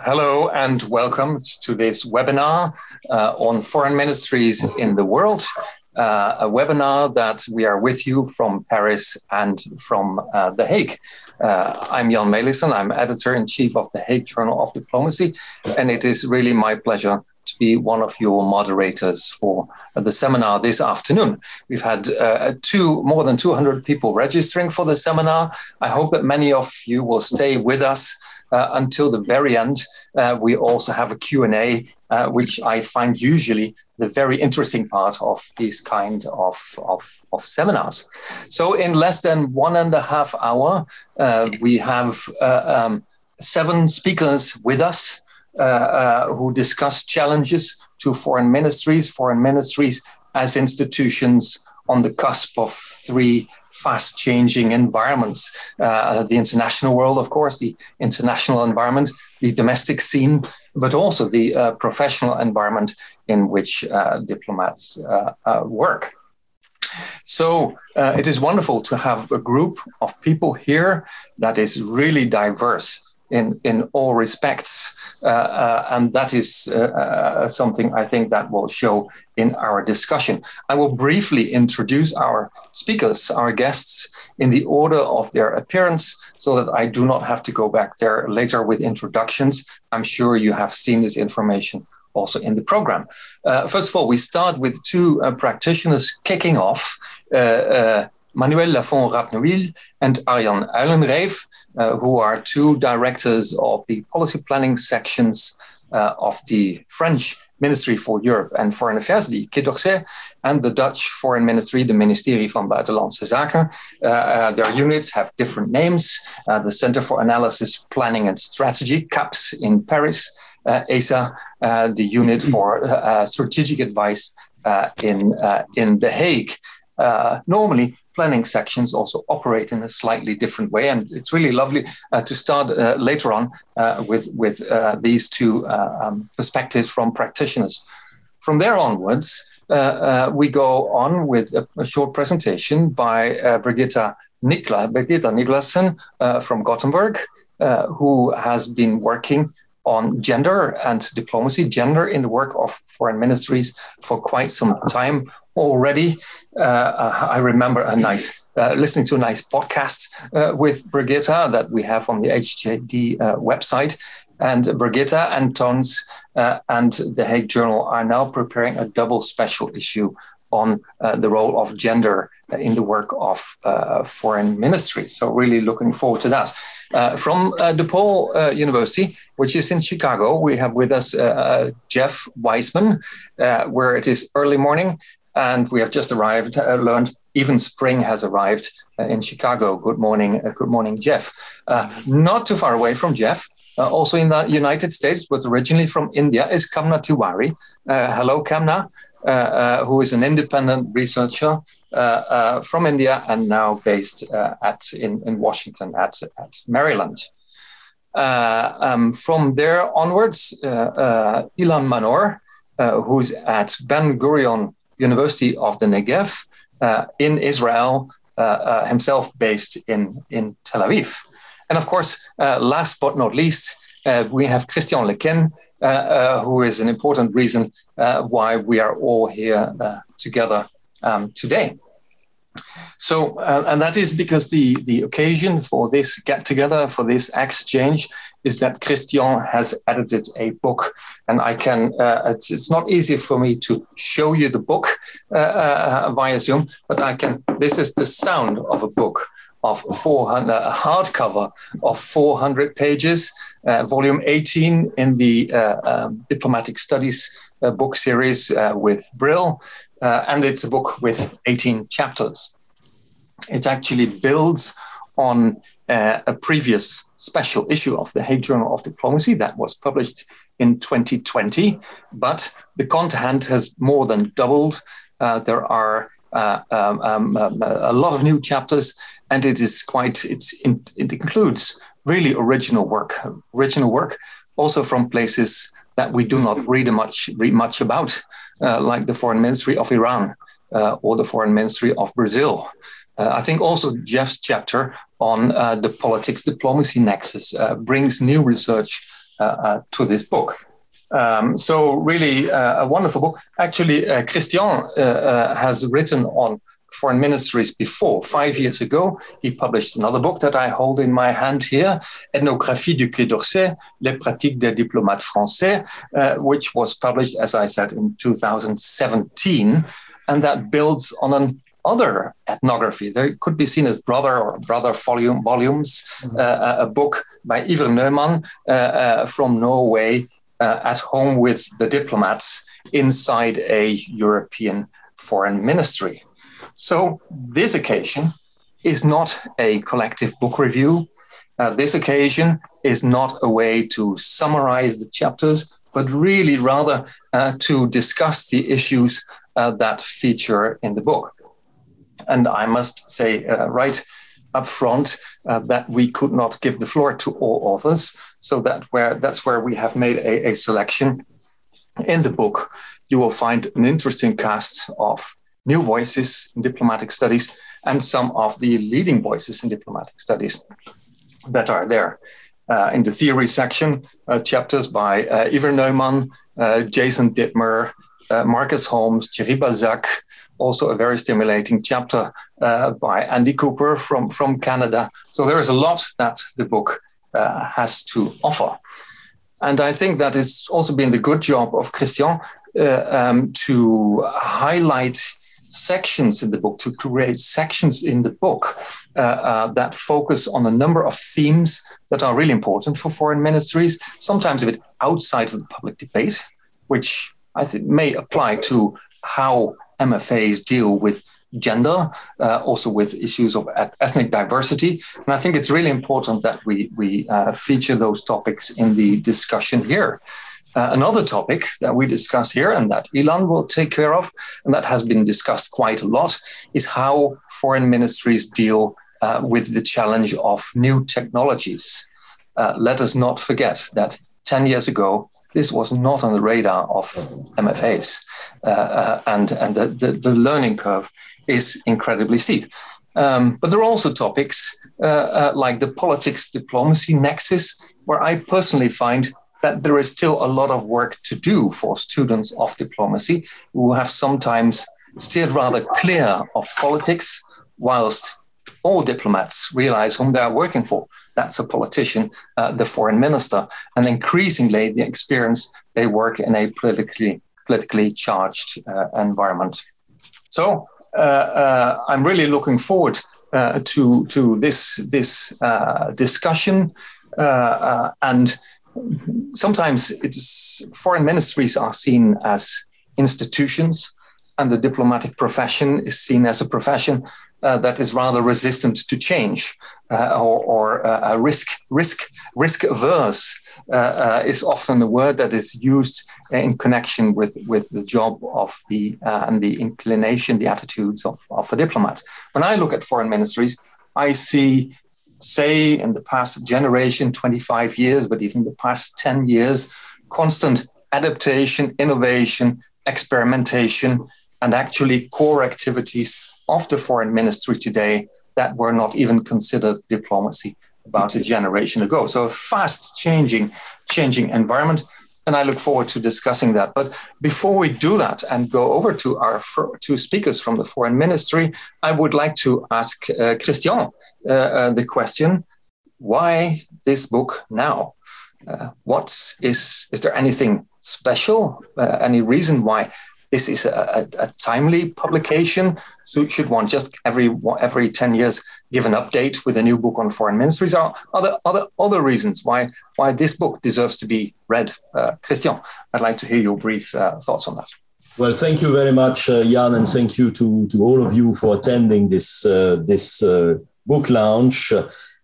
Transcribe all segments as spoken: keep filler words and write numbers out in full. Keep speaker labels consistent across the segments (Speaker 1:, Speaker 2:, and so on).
Speaker 1: Hello and welcome to this webinar uh, on foreign ministries in the world, uh, a webinar that we are with you from Paris and from uh, The Hague. Uh, I'm Jan Melissen, I'm editor-in-chief of The Hague Journal of Diplomacy, and it is really my pleasure to be one of your moderators for the seminar this afternoon. We've had uh, two, more than two hundred people registering for the seminar. I hope that many of you will stay with us Uh, until the very end. Uh, we also have a Q and A, uh, which I find usually the very interesting part of these kind of, of, of seminars. So in less than one and a half hour, uh, we have uh, um, seven speakers with us uh, uh, who discuss challenges to foreign ministries, foreign ministries as institutions on the cusp of three fast-changing environments. Uh, the international world, of course, the international environment, the domestic scene, but also the uh, professional environment in which uh, diplomats uh, uh, work. So uh, it is wonderful to have a group of people here that is really diverse in, in all respects. Uh, uh, and that is uh, uh, something I think that will show in our discussion. I will briefly introduce our speakers, our guests, in the order of their appearance, so that I do not have to go back there later with introductions. I'm sure you have seen this information also in the program. Uh, first of all, we start with two uh, practitioners kicking off, uh, uh, Manuel Lafont-Rapnouil and Arjan Uilenrijf, uh, who are two directors of the policy planning sections uh, of the French Ministry for Europe and Foreign Affairs, the Quai d'Orsay, and the Dutch Foreign Ministry, the Ministerie van Buitenlandse Zaken. Uh, uh, their units have different names. Uh, the Center for Analysis, Planning and Strategy, CAPS in Paris, uh, E S A, uh, the Unit for uh, Strategic Advice uh, in, uh, in The Hague. Uh, normally, planning sections also operate in a slightly different way, and it's really lovely uh, to start uh, later on uh, with, with uh, these two uh, um, perspectives from practitioners. From there onwards, uh, uh, we go on with a, a short presentation by uh, Brigitta Nikla, Brigitta Niklassen uh, from Gothenburg, uh, who has been working on gender and diplomacy, gender in the work of foreign ministries for quite some time already. Uh, I remember a nice, uh, listening to a nice podcast uh, with Brigitta that we have on the H J D uh, website. And Brigitta and Tons uh, and The Hague Journal are now preparing a double special issue on uh, the role of gender in the work of uh, foreign ministries. So really looking forward to that. Uh, from uh, DePaul uh, University, which is in Chicago, we have with us uh, Jeff Weissman, uh, where it is early morning, and we have just arrived, uh, learned even spring has arrived uh, in Chicago. Good morning, uh, good morning, Jeff. Uh, not too far away from Jeff, uh, also in the United States, but originally from India, is Kamna Tiwari. Uh, hello, Kamna. Uh, uh, who is an independent researcher uh, uh, from India and now based uh, at in, in Washington at, at Maryland. Uh, um, from there onwards, uh, uh, Ilan Manor, uh, who's at Ben Gurion University of the Negev uh, in Israel, uh, uh, himself based in, in Tel Aviv. And of course, uh, last but not least, uh, we have Christian Lequin, Uh, uh, who is an important reason uh, why we are all here uh, together um, today. So, uh, and that is because the, the occasion for this get-together, for this exchange, is that Christian has edited a book. And I can, uh, it's, it's not easy for me to show you the book uh, uh, via Zoom, but I can, this is the sound of a book of four hundred, a hardcover of four hundred pages, uh, volume eighteen in the uh, um, Diplomatic Studies uh, book series uh, with Brill, uh, and it's a book with eighteen chapters. It actually builds on uh, a previous special issue of the Hague Journal of Diplomacy that was published in twenty twenty, but the content has more than doubled. Uh, there are uh, um, um, um, a lot of new chapters, and it is quite, it's in, it includes really original work, original work, also from places that we do not read much, read much about, uh, like the Foreign Ministry of Iran uh, or the Foreign Ministry of Brazil. Uh, I think also Jeff's chapter on uh, the politics diplomacy nexus uh, brings new research uh, uh, to this book. Um, so really uh, a wonderful book. Actually, uh, Christian uh, uh, has written on foreign ministries before. Five years ago, he published another book that I hold in my hand here, Ethnographie du Quai d'Orsay, Les pratiques des diplomates français, uh, which was published, as I said, in two thousand seventeen, and that builds on an other ethnography. They could be seen as brother or brother volume, volumes, mm-hmm. uh, a book by Iver Neumann uh, uh, from Norway, uh, at home with the diplomats inside a European foreign ministry. So this occasion is not a collective book review. Uh, this occasion is not a way to summarize the chapters, but really rather uh, to discuss the issues uh, that feature in the book. And I must say uh, right up front uh, that we could not give the floor to all authors. So that where that's where we have made a, a selection. In the book, you will find an interesting cast of new voices in diplomatic studies and some of the leading voices in diplomatic studies that are there. Uh, in the theory section, uh, chapters by uh, Iver Neumann, uh, Jason Dittmer, uh, Marcus Holmes, Thierry Balzac, also a very stimulating chapter uh, by Andy Cooper from, from Canada. So there is a lot that the book uh, has to offer. And I think that it's also been the good job of Christian uh, um, to highlight sections in the book, to create sections in the book uh, uh, that focus on a number of themes that are really important for foreign ministries, sometimes a bit outside of the public debate, which I think may apply to how M F As deal with gender, uh, also with issues of ethnic diversity. And I think it's really important that we, we uh, feature those topics in the discussion here. Uh, another topic that we discuss here and that Ilan will take care of, and that has been discussed quite a lot, is how foreign ministries deal uh, with the challenge of new technologies. Uh, let us not forget that ten years ago, this was not on the radar of M F As, uh, uh, and, and the, the, the learning curve is incredibly steep. Um, but there are also topics uh, uh, like the politics-diplomacy nexus, where I personally find that there is still a lot of work to do for students of diplomacy who have sometimes steered rather clear of politics, whilst all diplomats realize whom they are working for. That's a politician, uh, the foreign minister, and increasingly the experience they work in a politically politically charged uh, environment. So uh, uh, I'm really looking forward uh, to to this this uh, discussion, uh, uh, and sometimes it's foreign ministries are seen as institutions, and the diplomatic profession is seen as a profession Uh, that is rather resistant to change uh, or, or uh, risk risk risk averse uh, uh, is often a word that is used in connection with, with the job of the uh, and the inclination, the attitudes of, of a diplomat. When I look at foreign ministries, I see, say, in the past generation, twenty-five years, but even the past ten years, constant adaptation, innovation, experimentation, and actually core activities of the foreign ministry today that were not even considered diplomacy about a generation ago. So a fast changing, changing environment. And I look forward to discussing that. But before we do that and go over to our two speakers from the foreign ministry, I would like to ask uh, Christian uh, uh, the question, why this book now? Uh, what is, is there anything special? Uh, any reason why this is a, a, a timely publication? So should one just every every ten years give an update with a new book on foreign ministries? Or are there other other reasons why why this book deserves to be read? Uh, Christian, I'd like to hear your brief uh, thoughts on that.
Speaker 2: Well, thank you very much, uh, Jan, and thank you to, to all of you for attending this uh, this uh, book launch.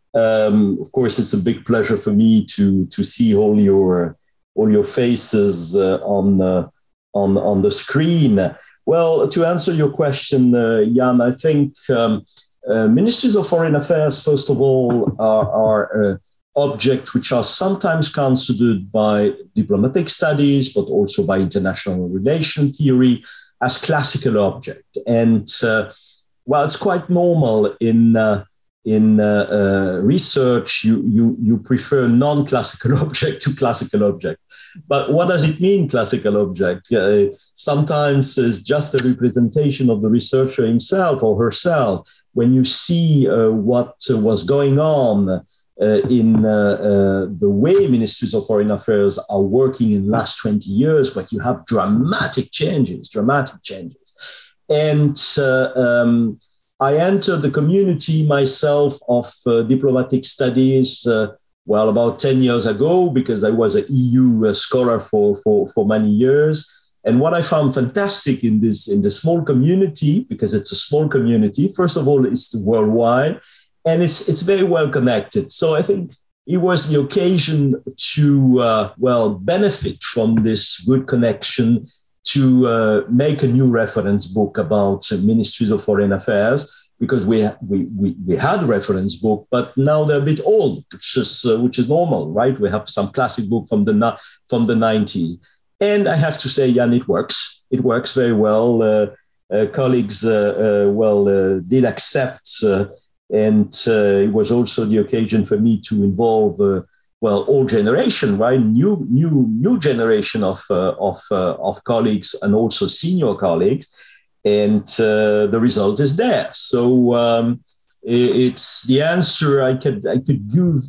Speaker 2: Um, of course, it's a big pleasure for me to to see all your all your faces uh, on. Uh, On, on the screen. Well, to answer your question, uh, Jan, I think um, uh, ministries of foreign affairs, first of all, are, are uh, objects which are sometimes considered by diplomatic studies, but also by international relation theory as classical object. And uh, well, it's quite normal in uh, in uh, uh, research, you, you, you prefer non-classical object to classical object. But what does it mean, classical object? Uh, sometimes it's just a representation of the researcher himself or herself. When you see uh, what uh, was going on uh, in uh, uh, the way ministries of foreign affairs are working in the last twenty years, but you have dramatic changes, dramatic changes. And uh, um, I entered the community myself of uh, diplomatic studies, uh, well, about ten years ago, because I was an E U uh, scholar for, for, for many years. And what I found fantastic in this, in the small community, because it's a small community, first of all, it's worldwide, and it's, it's very well connected. So I think it was the occasion to, uh, well, benefit from this good connection, to uh, make a new reference book about uh, ministries of foreign affairs, because we, we, we, we had a reference book, but now they're a bit old, which is, uh, which is normal, right? We have some classic book from the, from the nineties. And I have to say, Jan, it works. It works very well. Uh, uh, colleagues, uh, uh, well, uh, did accept, uh, and uh, it was also the occasion for me to involve, uh, well, all generation, right? New, new, new generation of uh, of uh, of colleagues, and also senior colleagues, and uh, the result is there. So um, it's the answer I could I could give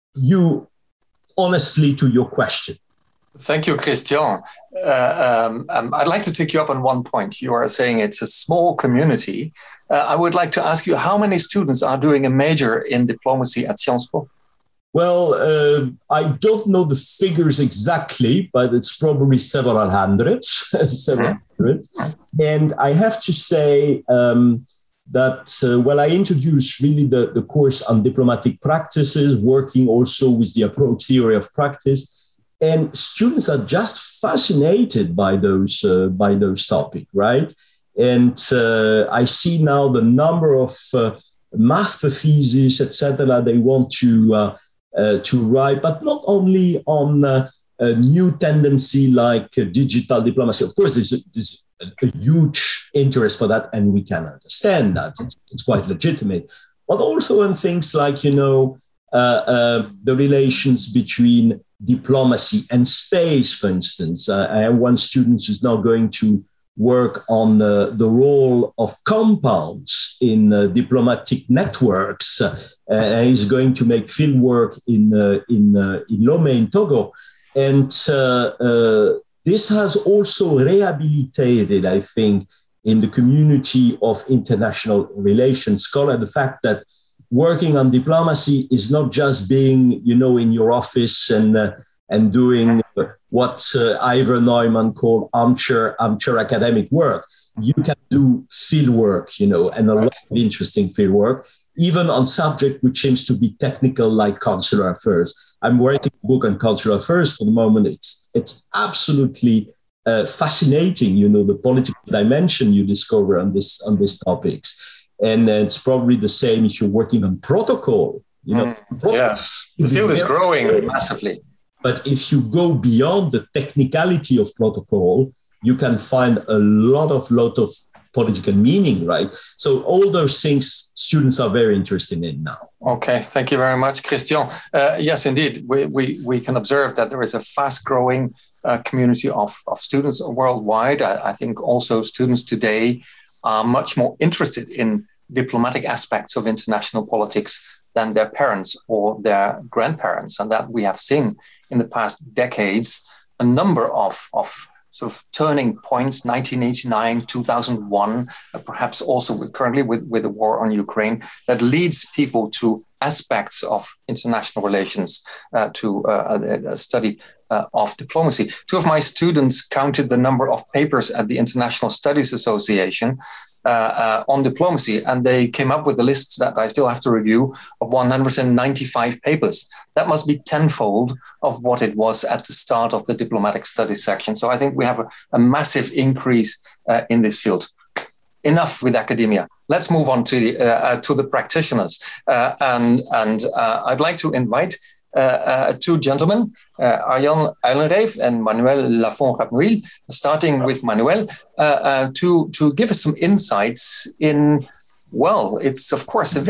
Speaker 2: you honestly to your question.
Speaker 1: Thank you, Christian. Uh, um, um, I'd like to take you up on one point. You are saying it's a small community. Uh, I would like to ask you, how many students are doing a major in diplomacy at Sciences Po?
Speaker 2: Well, uh, I don't know the figures exactly, but it's probably several hundred, several hundred. And I have to say um, that, uh, well, I introduced really the, the course on diplomatic practices, working also with the approach theory of practice. And students are just fascinated by those uh, by those topics, right? And uh, I see now the number of uh, master theses, et cetera, they want to uh, uh, to write, but not only on uh, a new tendency like uh, digital diplomacy. Of course, there's, a, there's a huge interest for that, and we can understand that. It's, it's quite legitimate. But also on things like, you know, uh, uh, the relations between diplomacy and space, for instance. Uh, I have one student who's now going to work on uh, the role of compounds in uh, diplomatic networks. Uh, and he's going to make field work in, uh, in, uh, in Lomé in Togo. And uh, uh, this has also rehabilitated, I think, in the community of international relations scholar, the fact that working on diplomacy is not just being, you know, in your office and uh, and doing what uh, Ivor Neumann called armchair armchair academic work. You can do field work, you know, and a lot of interesting field work, even on subject which seems to be technical, like consular affairs. I'm writing a book on consular affairs for the moment. It's it's absolutely uh, fascinating, you know, the political dimension you discover on this on these topics. And it's probably the same if you're working on protocol. You know,
Speaker 1: mm, protocol, yes, the field is growing great. massively.
Speaker 2: But if you go beyond the technicality of protocol, you can find a lot of lot of political meaning, right? So all those things students are very interested in now.
Speaker 1: Okay, thank you very much, Christian. Uh, yes, indeed, we, we we can observe that there is a fast-growing uh, community of, of students worldwide. I, I think also students today are much more interested in diplomatic aspects of international politics than their parents or their grandparents. And that we have seen in the past decades, a number of, of sort of turning points, nineteen eighty-nine, two thousand one, uh, perhaps also with, currently with, with the war on Ukraine, that leads people to aspects of international relations, uh, to uh, a, a study uh, of diplomacy. Two of my students counted the number of papers at the International Studies Association uh, uh, on diplomacy, and they came up with a list that I still have to review of one hundred ninety-five papers. That must be tenfold of what it was at the start of the diplomatic studies section. So I think we have a, a massive increase uh, in this field. Enough with academia. Let's move on to the uh, uh, to the practitioners, uh, and and uh, I'd like to invite uh, uh, two gentlemen, uh, Arjan Uylenreef and Manuel Lafont-Rapnouil. Starting with Manuel, uh, uh, to to give us some insights in. Well, it's of course a very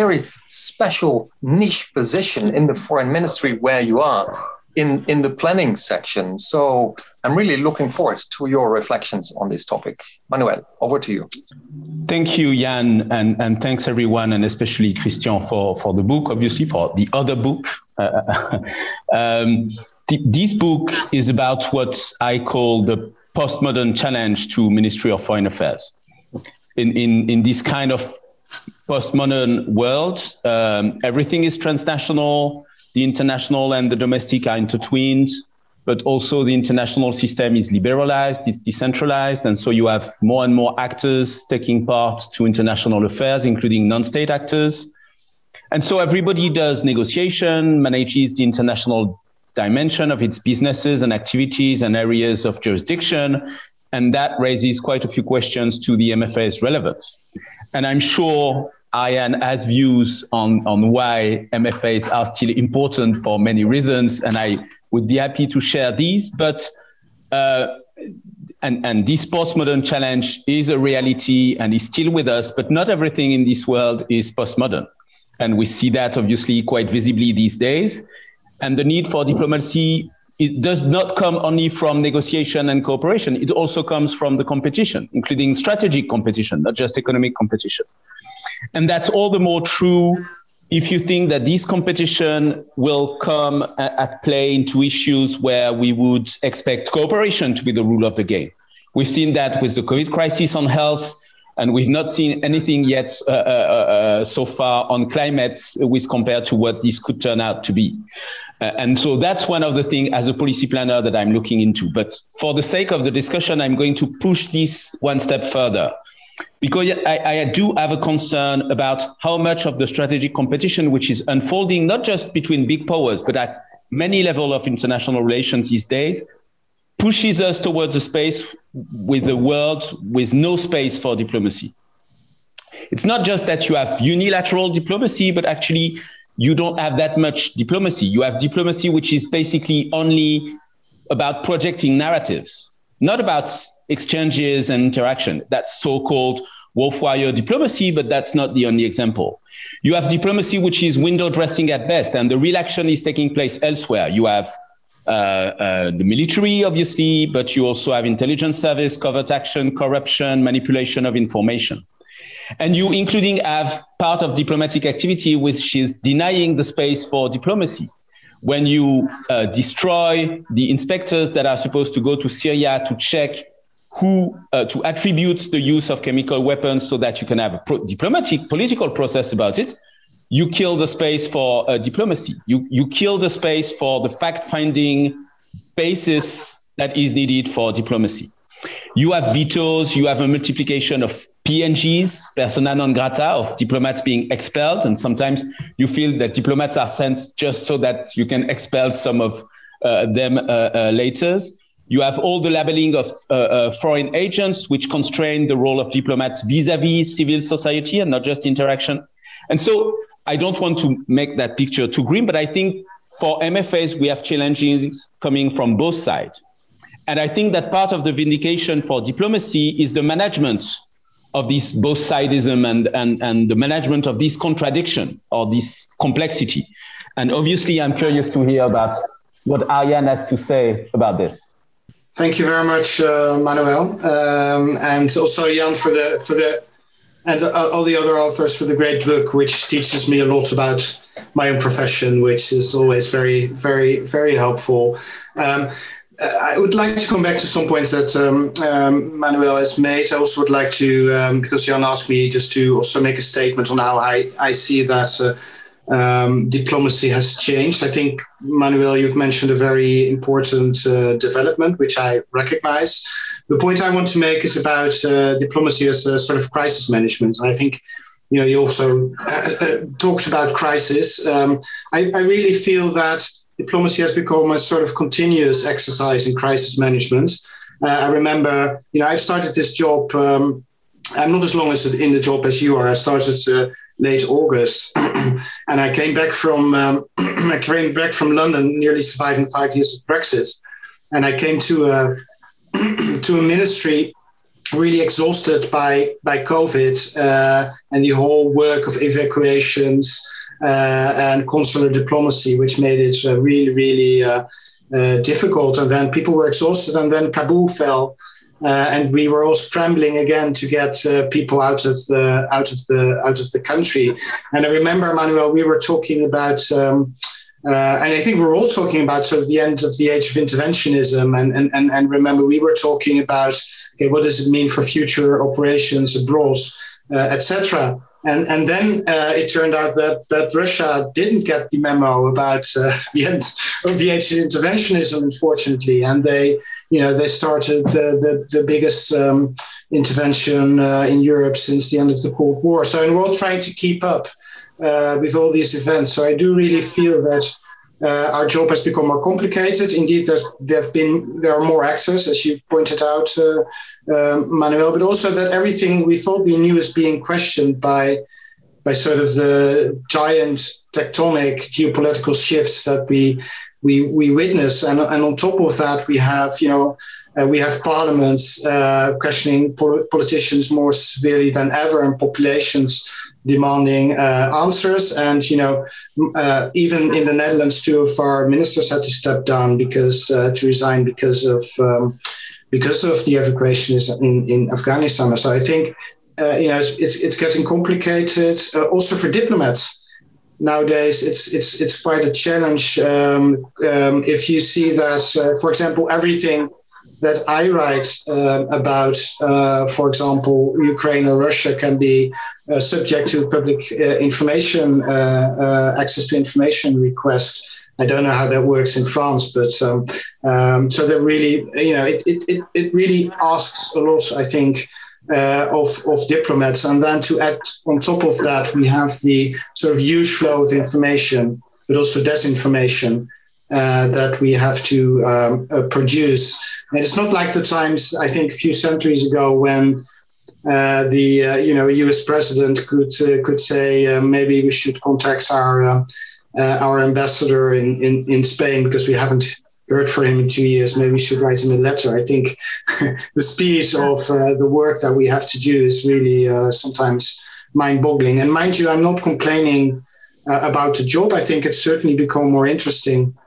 Speaker 1: special niche position in the foreign ministry where you are in, in the planning section. So I'm really looking forward to your reflections on this topic. Manuel, over to you.
Speaker 3: Thank you, Jan, and, and thanks everyone, and especially Christian for, for the book, obviously, for the other book. Uh, um, th- this book is about what I call the postmodern challenge to Ministry of Foreign Affairs. In, in, in this kind of postmodern world, um, everything is transnational, the international and the domestic are intertwined, but also the international system is liberalized, it's decentralized, and so you have more and more actors taking part to international affairs, including non-state actors. And so everybody does negotiation, manages the international dimension of its businesses and activities and areas of jurisdiction, and that raises quite a few questions to the M F A's relevance. And I'm sure Arjan has views on, on why M F As are still important for many reasons, and I would be happy to share these. But uh, and, and this postmodern challenge is a reality and is still with us, but not everything in this world is postmodern. And we see that obviously quite visibly these days. And the need for diplomacy, it does not come only from negotiation and cooperation. It also comes from the competition, including strategic competition, not just economic competition. And that's all the more true if you think that this competition will come at play into issues where we would expect cooperation to be the rule of the game. We've seen that with the COVID crisis on health, and we've not seen anything yet uh, uh, uh, so far on climate with compared to what this could turn out to be. Uh, and so that's one of the things as a policy planner that I'm looking into. But for the sake of the discussion, I'm going to push this one step further, because I, I do have a concern about how much of the strategic competition, which is unfolding not just between big powers, but at many levels of international relations these days, pushes us towards a space with a world with no space for diplomacy. It's not just that you have unilateral diplomacy, but actually you don't have that much diplomacy. You have diplomacy which is basically only about projecting narratives, not about exchanges and interaction. That's so-called wolf warrior diplomacy, but that's not the only example. You have diplomacy which is window dressing at best, and the real action is taking place elsewhere. You have uh, uh, the military, obviously, but you also have intelligence service, covert action, corruption, manipulation of information. And you including have part of diplomatic activity which is denying the space for diplomacy. When you uh, destroy the inspectors that are supposed to go to Syria to check who, uh, to attribute the use of chemical weapons so that you can have a pro- diplomatic political process about it, you kill the space for uh, diplomacy. You, you kill the space for the fact-finding basis that is needed for diplomacy. You have vetoes, you have a multiplication of P N Gs, persona non grata, of diplomats being expelled. And sometimes you feel that diplomats are sent just so that you can expel some of uh, them uh, uh, later. You have all the labeling of uh, uh, foreign agents, which constrain the role of diplomats vis-a-vis civil society and not just interaction. And so I don't want to make that picture too grim, but I think for M F As, we have challenges coming from both sides. And I think that part of the vindication for diplomacy is the management of this both sidism and, and, and the management of this contradiction or this complexity. And obviously, I'm curious to hear about what Arjan has to say about this.
Speaker 4: Thank you very much, uh, Manuel, um, and also Jan for the for the and uh, all the other authors for the great book, which teaches me a lot about my own profession, which is always very, very, very helpful. Um, I would like to come back to some points that um, um, Manuel has made. I also would like to, um, because Jan asked me just to also make a statement on how I, I see that uh, um, diplomacy has changed. I think, Manuel, you've mentioned a very important uh, development, which I recognize. The point I want to make is about uh, diplomacy as a sort of crisis management. And I think, you know, you also uh, talked about crisis. Um, I, I really feel that diplomacy has become a sort of continuous exercise in crisis management. Uh, I remember, you know, I've started this job. Um, I'm not as long as in the job as you are. I started uh, late August, and I came back from um, I came back from London, nearly surviving five years of Brexit, and I came to a to a ministry really exhausted by by COVID uh, and the whole work of evacuations. uh, and consular diplomacy, which made it uh, really, really uh, uh, difficult. And then people were exhausted, and then Kabul fell. Uh, and we were all scrambling again to get uh, people out of the out of the out of the country. And I remember, Manuel, we were talking about, um, uh, and I think we were all talking about sort of the end of the age of interventionism. And and and, and remember, we were talking about, okay, what does it mean for future operations abroad, uh, et cetera. And and then uh, it turned out that that Russia didn't get the memo about uh, the end of the age of interventionism, unfortunately, and they. You know, they started the, the, the biggest um, intervention uh, in Europe since the end of the Cold War. So, and we're all trying to keep up uh, with all these events. So I do really feel that uh, our job has become more complicated. Indeed, there's, there have been there are more actors, as you've pointed out, uh, uh, Manuel, but also that everything we thought we knew is being questioned by by sort of the giant tectonic geopolitical shifts that we. We, we witness, and, and on top of that, we have, you know, uh, we have parliaments uh, questioning pol- politicians more severely than ever, and populations demanding uh, answers. And, you know, uh, even in the Netherlands, two of our ministers had to step down because uh, to resign because of um, because of the evacuations in, in Afghanistan. So I think, uh, you know, it's, it's, it's getting complicated uh, also for diplomats. Nowadays, it's it's it's quite a challenge. Um, um, if you see that, uh, for example, everything that I write uh, about, uh, for example, Ukraine or Russia, can be uh, subject to public uh, information, uh, uh, access to information requests. I don't know how that works in France, but um, um, so that really, you know, it it it really asks a lot, I think. Uh, of, of diplomats. And then to add on top of that, we have the sort of huge flow of information, but also disinformation uh, that we have to um, uh, produce. And it's not like the times, I think, a few centuries ago when uh, the uh, you know U S president could uh, could say uh, maybe we should contact our uh, uh, our ambassador in, in, in Spain because we haven't heard from him in two years. Maybe we should write him a letter. I think the speed of uh, the work that we have to do is really uh, sometimes mind-boggling. And mind you, I'm not complaining uh, about the job. I think it's certainly become more interesting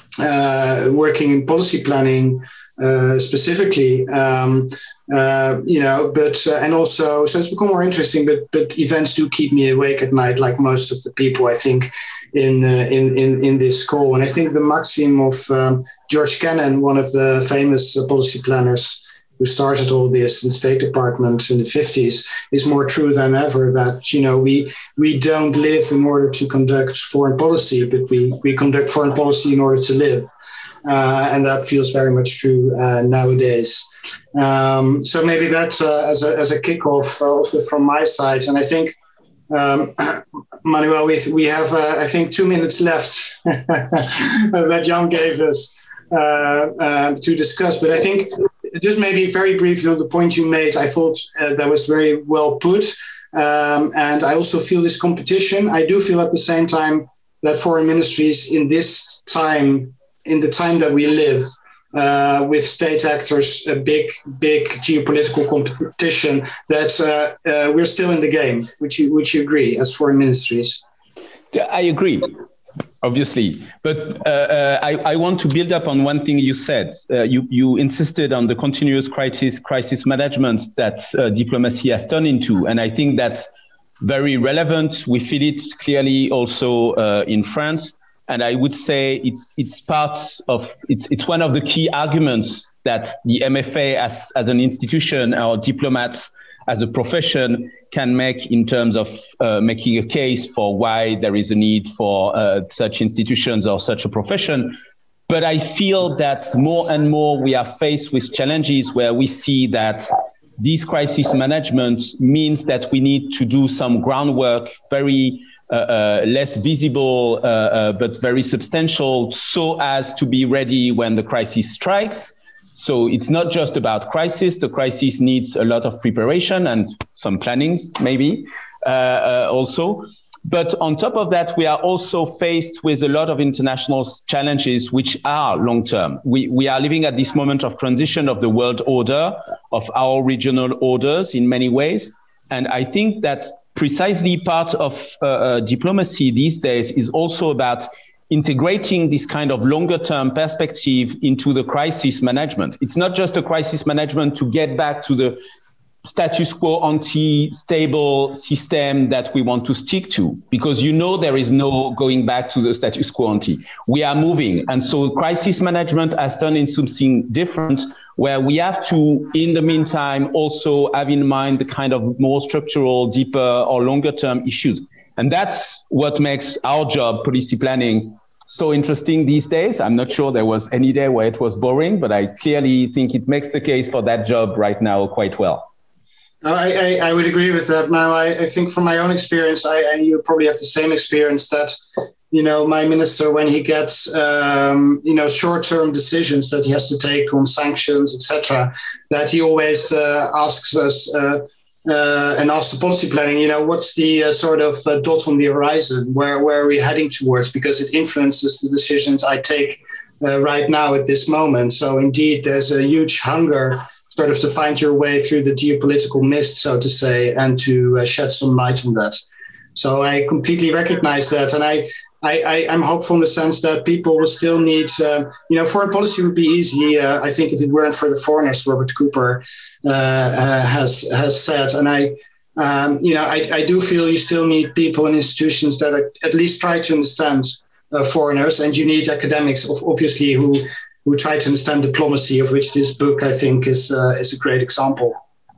Speaker 4: uh, working in policy planning uh, specifically. Um, uh, you know, but uh, and also so it's become more interesting. But but events do keep me awake at night, like most of the people, I think. In, uh, in in in this call. And I think the maxim of um, George Kennan, one of the famous uh, policy planners who started all this in the State Department in the fifties, is more true than ever, that, you know, we we don't live in order to conduct foreign policy, but we, we conduct foreign policy in order to live. Uh, and that feels very much true uh, nowadays. Um, so maybe that uh, as, a, as a kickoff uh, also from my side. And I think Um, Manuel, we we have, uh, I think, two minutes left that Jan gave us uh, uh, to discuss. But I think just maybe very briefly on the point you made, I thought uh, that was very well put. Um, and I also feel this competition. I do feel at the same time that foreign ministries in this time, in the time that we live, Uh, with state actors, a big, big geopolitical competition, that uh, uh, we're still in the game. Would you, would you agree as foreign ministries?
Speaker 3: I agree, obviously. But uh, uh, I, I want to build up on one thing you said. Uh, you, you insisted on the continuous crisis, crisis management that uh, diplomacy has turned into. And I think that's very relevant. We feel it clearly also uh, in France. And I would say it's it's part of it's it's one of the key arguments that the M F A as as an institution or diplomats as a profession can make in terms of uh, making a case for why there is a need for uh, such institutions or such a profession. But I feel that more and more we are faced with challenges where we see that this crisis management means that we need to do some groundwork, very Uh, uh, less visible, uh, uh, but very substantial, so as to be ready when the crisis strikes. So it's not just about crisis. The crisis needs a lot of preparation and some planning, maybe uh, uh, also. But on top of that, we are also faced with a lot of international challenges, which are long-term. We, we are living at this moment of transition of the world order, of our regional orders in many ways. And I think that precisely part of uh, uh, diplomacy these days is also about integrating this kind of longer term perspective into the crisis management. It's not just a crisis management to get back to the status quo anti-stable system that we want to stick to, because you know there is no going back to the status quo ante. We are moving. And so crisis management has turned into something different, where we have to, in the meantime, also have in mind the kind of more structural, deeper or longer term issues. And that's what makes our job, policy planning, so interesting these days. I'm not sure there was any day where it was boring, but I clearly think it makes the case for that job right now quite well.
Speaker 4: I, I, I would agree with that. Now, I, I think from my own experience, I, and you probably have the same experience, that, you know, my minister, when he gets, um, you know, short-term decisions that he has to take on sanctions, et cetera, that he always uh, asks us uh, uh, and asks the policy planning, you know, what's the uh, sort of uh, dot on the horizon? Where, where are we heading towards? Because it influences the decisions I take uh, right now at this moment. So indeed, there's a huge hunger sort of to find your way through the geopolitical mist, so to say, and to uh, shed some light on that. So I completely recognize that. And I, I, I, I'm hopeful in the sense that people will still need, uh, you know, foreign policy would be easy. Uh, I think if it weren't for the foreigners, Robert Cooper uh, uh, has has said. And I, um, you know, I, I do feel you still need people and institutions that are, at least try to understand uh, foreigners. And you need academics, obviously, who who try to understand diplomacy, of which this book, I think, is uh, is a great example.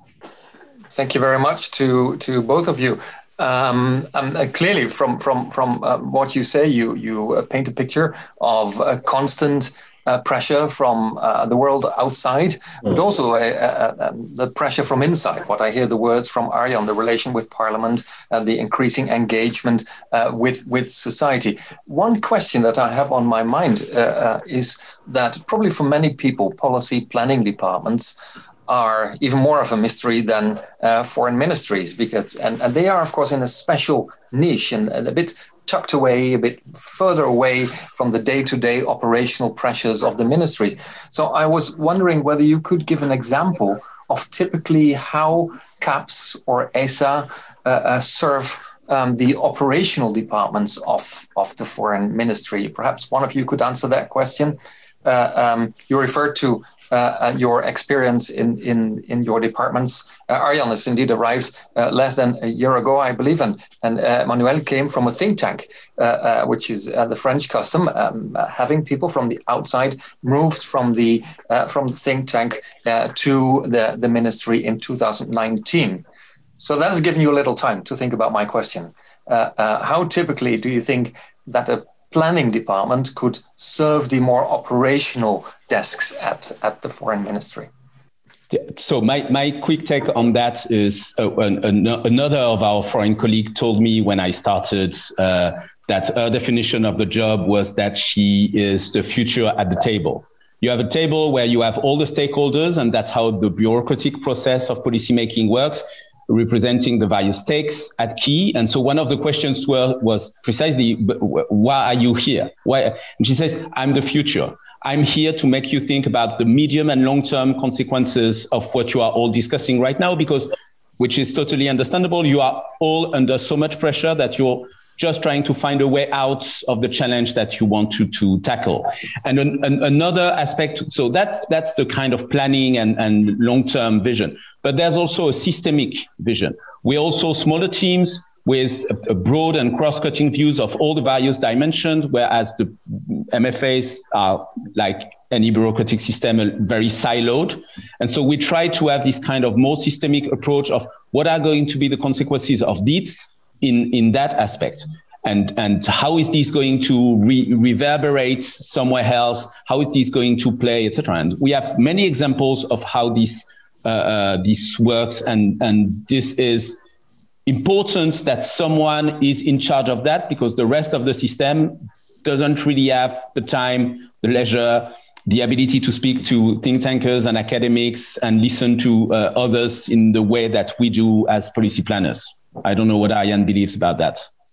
Speaker 1: Thank you very much to to both of you. Um, um, uh, clearly, from from from uh, what you say, you you uh, paint a picture of a constant uh, pressure from uh, the world outside, mm. but also uh, uh, um, the pressure from inside. What I hear the words from Arjan, the relation with Parliament, uh, the increasing engagement uh, with with society. One question that I have on my mind uh, uh, is that probably for many people, policy planning departments are even more of a mystery than uh, foreign ministries, because and, and they are, of course, in a special niche and, and a bit tucked away, a bit further away from the day-to-day operational pressures of the ministries. So I was wondering whether you could give an example of typically how CAPS or E S A uh, uh, serve um, the operational departments of, of the foreign ministry. Perhaps one of you could answer that question. Uh, um, you referred to Uh, uh, your experience in, in, in your departments. Uh, Arjan has indeed arrived uh, less than a year ago, I believe, and, and uh, Manuel came from a think tank, uh, uh, which is uh, the French custom, um, uh, having people from the outside moved from the uh, from the think tank uh, to the, the ministry in two thousand nineteen. So that has given you a little time to think about my question. Uh, uh, how typically do you think that a planning department could serve the more operational desks at, at the foreign ministry?
Speaker 3: Yeah, so my, my quick take on that is uh, an, an, another of our foreign colleagues told me when I started uh, that her definition of the job was that she is the future at the table. You have a table where you have all the stakeholders, and that's how the bureaucratic process of policymaking works, representing the various stakes at key. And so one of the questions to her was precisely, why are you here? Why? And she says, I'm the future. I'm here to make you think about the medium and long-term consequences of what you are all discussing right now, because, which is totally understandable, you are all under so much pressure that you're just trying to find a way out of the challenge that you want to, to tackle. And an, an, another aspect, so that's that's the kind of planning and, and long-term vision. But there's also a systemic vision. We're also smaller teams with a, a broad and cross-cutting views of all the various dimensions, whereas the M F As are, like any bureaucratic system, very siloed. And so we try to have this kind of more systemic approach of what are going to be the consequences of this in, in that aspect. And, and how is this going to re- reverberate somewhere else? How is this going to play, et cetera? And we have many examples of how this uh, uh, this works, and, and this is important that someone is in charge of that, because the rest of the system doesn't really have the time, the leisure, the ability to speak to think tankers and academics and listen to uh, others in the way that we do as policy planners. I don't know what Arjan believes about that.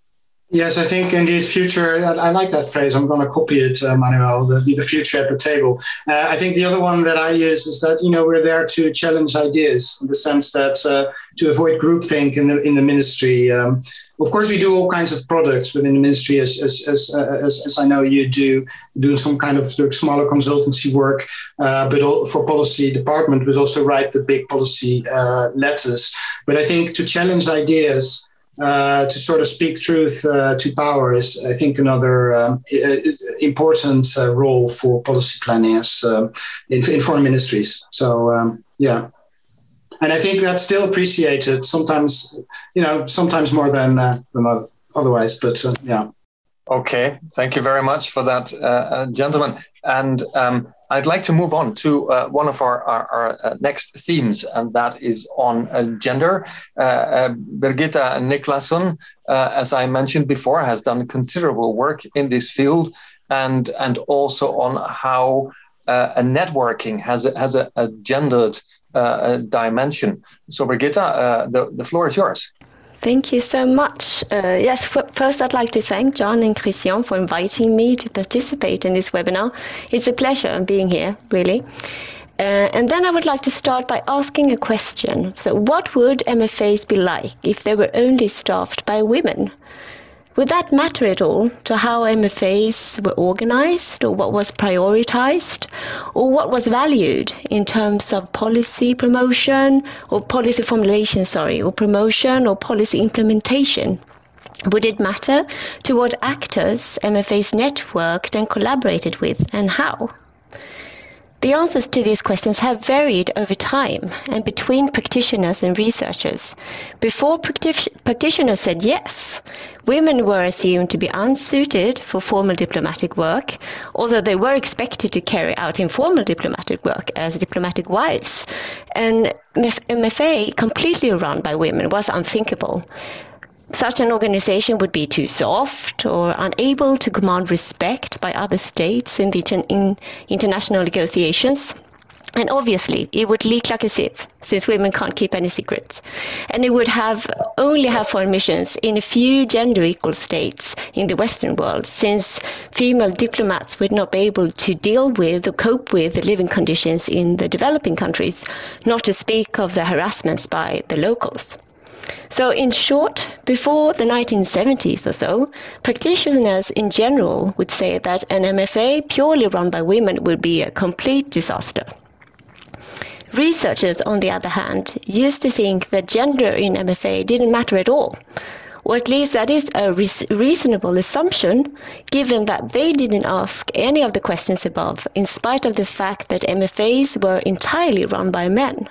Speaker 4: Yes, I think indeed future, I, I like that phrase. I'm going to copy it, uh, Manuel, the, the future at the table. Uh, I think the other one that I use is that, you know, we're there to challenge ideas in the sense that uh, to avoid groupthink in the in the ministry. Um, of course, we do all kinds of products within the ministry, as as as, uh, as, as I know you do, doing some kind of smaller consultancy work, uh, but all, for policy department, but also write the big policy uh, letters. But I think to challenge ideas, Uh, to sort of speak truth uh, to power is, I think, another um, important uh, role for policy planners uh, in, in foreign ministries. So, um, yeah. And I think that's still appreciated sometimes, you know, sometimes more than, uh, than otherwise, but uh, yeah.
Speaker 1: Okay, thank you very much for that, uh, uh, gentlemen. And um, I'd like to move on to uh, one of our, our, our uh, next themes, and that is on uh, gender. Uh, uh, Birgitta Niklasson, uh, as I mentioned before, has done considerable work in this field, and and also on how uh, a networking has a, has a, a gendered uh, dimension. So, Birgitta, uh, the, the floor is yours.
Speaker 5: Thank you so much. Uh, yes, first I'd like to thank John and Christian for inviting me to participate in this webinar. It's a pleasure being here, really. Uh, and then I would like to start by asking a question. So what would M F As be like if they were only staffed by women? Would that matter at all to how M F As were organized, or what was prioritized, or what was valued in terms of policy promotion or policy formulation, sorry, or promotion or policy implementation? Would it matter to what actors M F As networked and collaborated with, and how? The answers to these questions have varied over time and between practitioners and researchers. Before practic- practitioners said yes, women were assumed to be unsuited for formal diplomatic work, although they were expected to carry out informal diplomatic work as diplomatic wives. And M F A completely run by women was unthinkable. Such an organization would be too soft or unable to command respect by other states in the inter- in international negotiations. And obviously, it would leak like a sieve, since women can't keep any secrets. And it would have only have foreign missions in a few gender-equal states in the Western world, since female diplomats would not be able to deal with or cope with the living conditions in the developing countries, not to speak of the harassments by the locals. So in short, before the nineteen seventies or so, practitioners in general would say that an M F A purely run by women would be a complete disaster. Researchers, on the other hand, used to think that gender in M F A didn't matter at all, or at least that is a re- reasonable assumption, given that they didn't ask any of the questions above, in spite of the fact that M F As were entirely run by men.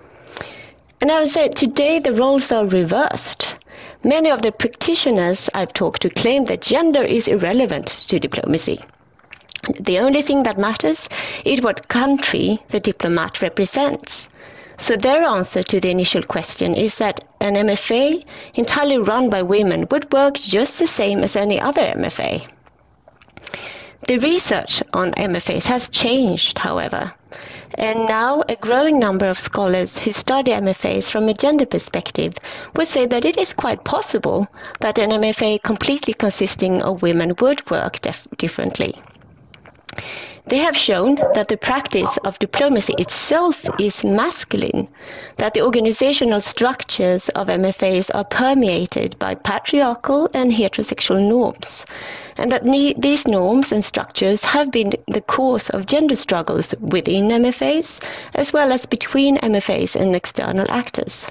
Speaker 5: And I would say today the roles are reversed. Many of the practitioners I've talked to claim that gender is irrelevant to diplomacy. The only thing that matters is what country the diplomat represents. So their answer to the initial question is that an M F A entirely run by women would work just the same as any other M F A. The research on M F As has changed, however. And now a growing number of scholars who study M F As from a gender perspective would say that it is quite possible that an M F A completely consisting of women would work def- differently. They have shown that the practice of diplomacy itself is masculine, that the organizational structures of M F As are permeated by patriarchal and heterosexual norms, and that ne- these norms and structures have been the cause of gender struggles within M F As, as well as between M F As and external actors.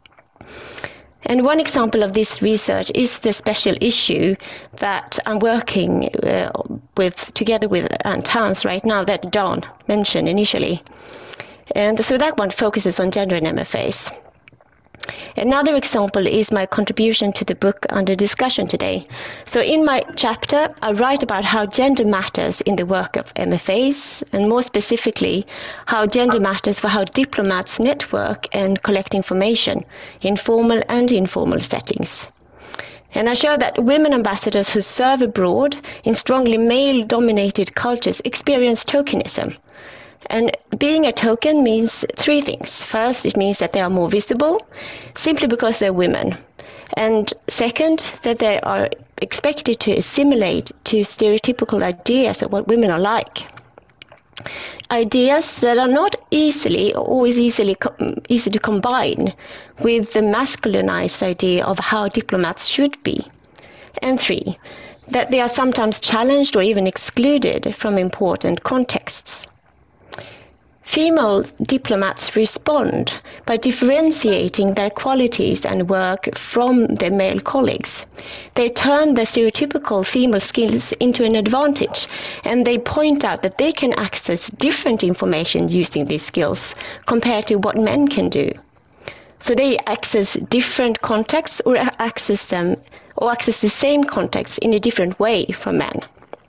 Speaker 5: And one example of this research is the special issue that I'm working uh, with together with Anne Towns right now that Dawn mentioned initially. And so that one focuses on gender in M F As. Another example is my contribution to the book under discussion today. So in my chapter, I write about how gender matters in the work of M F As, and more specifically, how gender matters for how diplomats network and collect information in formal and informal settings. And I show that women ambassadors who serve abroad in strongly male-dominated cultures experience tokenism. And being a token means three things. First, it means that they are more visible, simply because they're women. And second, that they are expected to assimilate to stereotypical ideas of what women are like. Ideas that are not easily, always easily easy to combine with the masculinized idea of how diplomats should be. And three, that they are sometimes challenged or even excluded from important contexts. Female diplomats respond by differentiating their qualities and work from their male colleagues. They turn their stereotypical female skills into an advantage, and they point out that they can access different information using these skills compared to what men can do. So they access different contexts or access them or access the same context in a different way from men.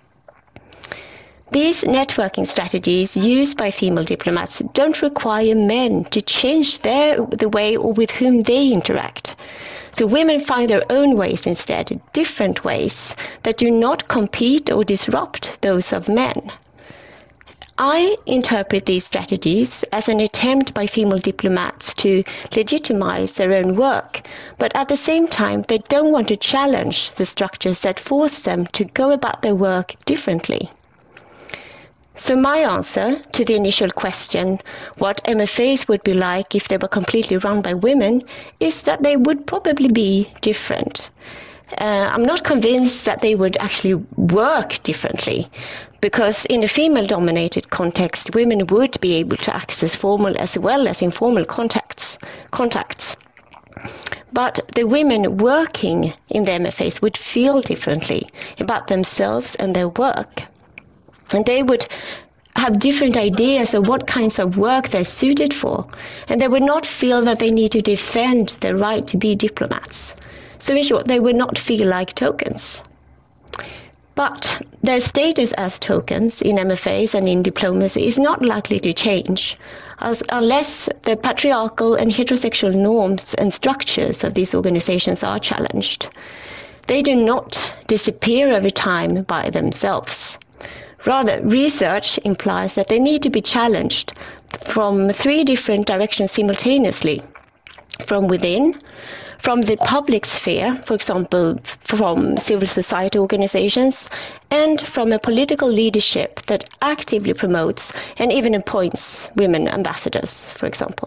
Speaker 5: These networking strategies used by female diplomats don't require men to change their, the way or with whom they interact. So women find their own ways instead, different ways that do not compete or disrupt those of men. I interpret these strategies as an attempt by female diplomats to legitimize their own work, but at the same time they don't want to challenge the structures that force them to go about their work differently. So my answer to the initial question, what M F As would be like if they were completely run by women, is that they would probably be different. Uh, I'm not convinced that they would actually work differently, because in a female-dominated context, women would be able to access formal as well as informal contacts. contacts. But the women working in the M F As would feel differently about themselves and their work. And they would have different ideas of what kinds of work they're suited for. And they would not feel that they need to defend their right to be diplomats. So in short, they would not feel like tokens. But their status as tokens in M F As and in diplomacy is not likely to change as, unless the patriarchal and heterosexual norms and structures of these organizations are challenged. They do not disappear over time by themselves. Rather, research implies that they need to be challenged from three different directions simultaneously: from within, from the public sphere, for example, from civil society organizations, and from a political leadership that actively promotes and even appoints women ambassadors, for example.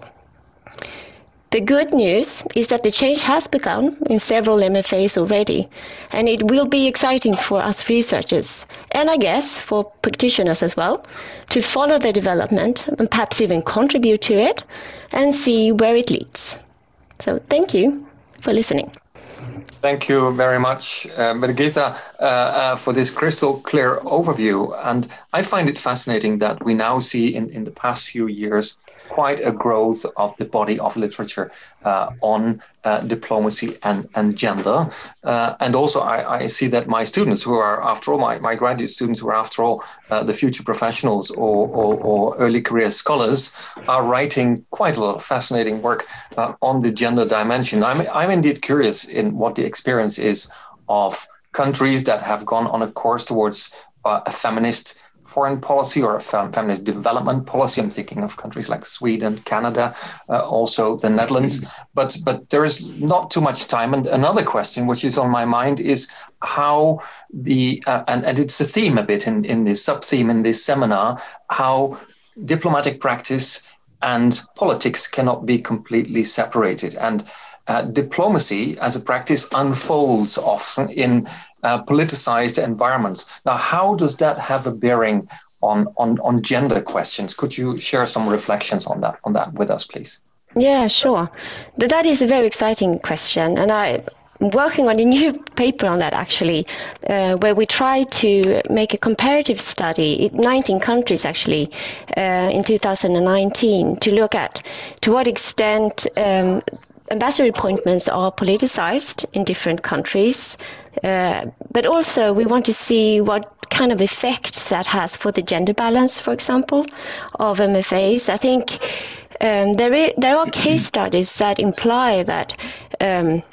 Speaker 5: The good news is that the change has begun in several M F As already, and it will be exciting for us researchers, and I guess for practitioners as well, to follow the development and perhaps even contribute to it and see where it leads. So thank you for listening.
Speaker 1: Thank you very much, uh, Birgitta, uh, uh, for this crystal clear overview. And I find it fascinating that we now see in, in the past few years quite a growth of the body of literature uh, on uh, diplomacy and, and gender. Uh, and also I, I see that my students who are, after all, my, my graduate students who are, after all, uh, the future professionals or, or, or early career scholars are writing quite a lot of fascinating work uh, on the gender dimension. I'm, I'm indeed curious in what the experience is of countries that have gone on a course towards uh, a feminist foreign policy or a feminist development policy. I'm thinking of countries like Sweden, Canada, uh, also the Netherlands. But but there is not too much time. And another question which is on my mind is how the, uh, and, and it's a theme a bit in, in this sub-theme in this seminar, how diplomatic practice and politics cannot be completely separated. And uh, diplomacy as a practice unfolds often in Uh, politicized environments. Now, how does that have a bearing on, on, on gender questions? Could you share some reflections on that on that with us, please?
Speaker 5: Yeah, sure. That is a very exciting question, and I'm working on a new paper on that actually, uh, where we try to make a comparative study in nineteen countries actually uh, in two thousand nineteen to look at to what extent um, ambassador appointments are politicized in different countries. Uh, but also we want to see what kind of effect that has for the gender balance, for example, of M F As. I think um, there, is, there are case studies that imply that um,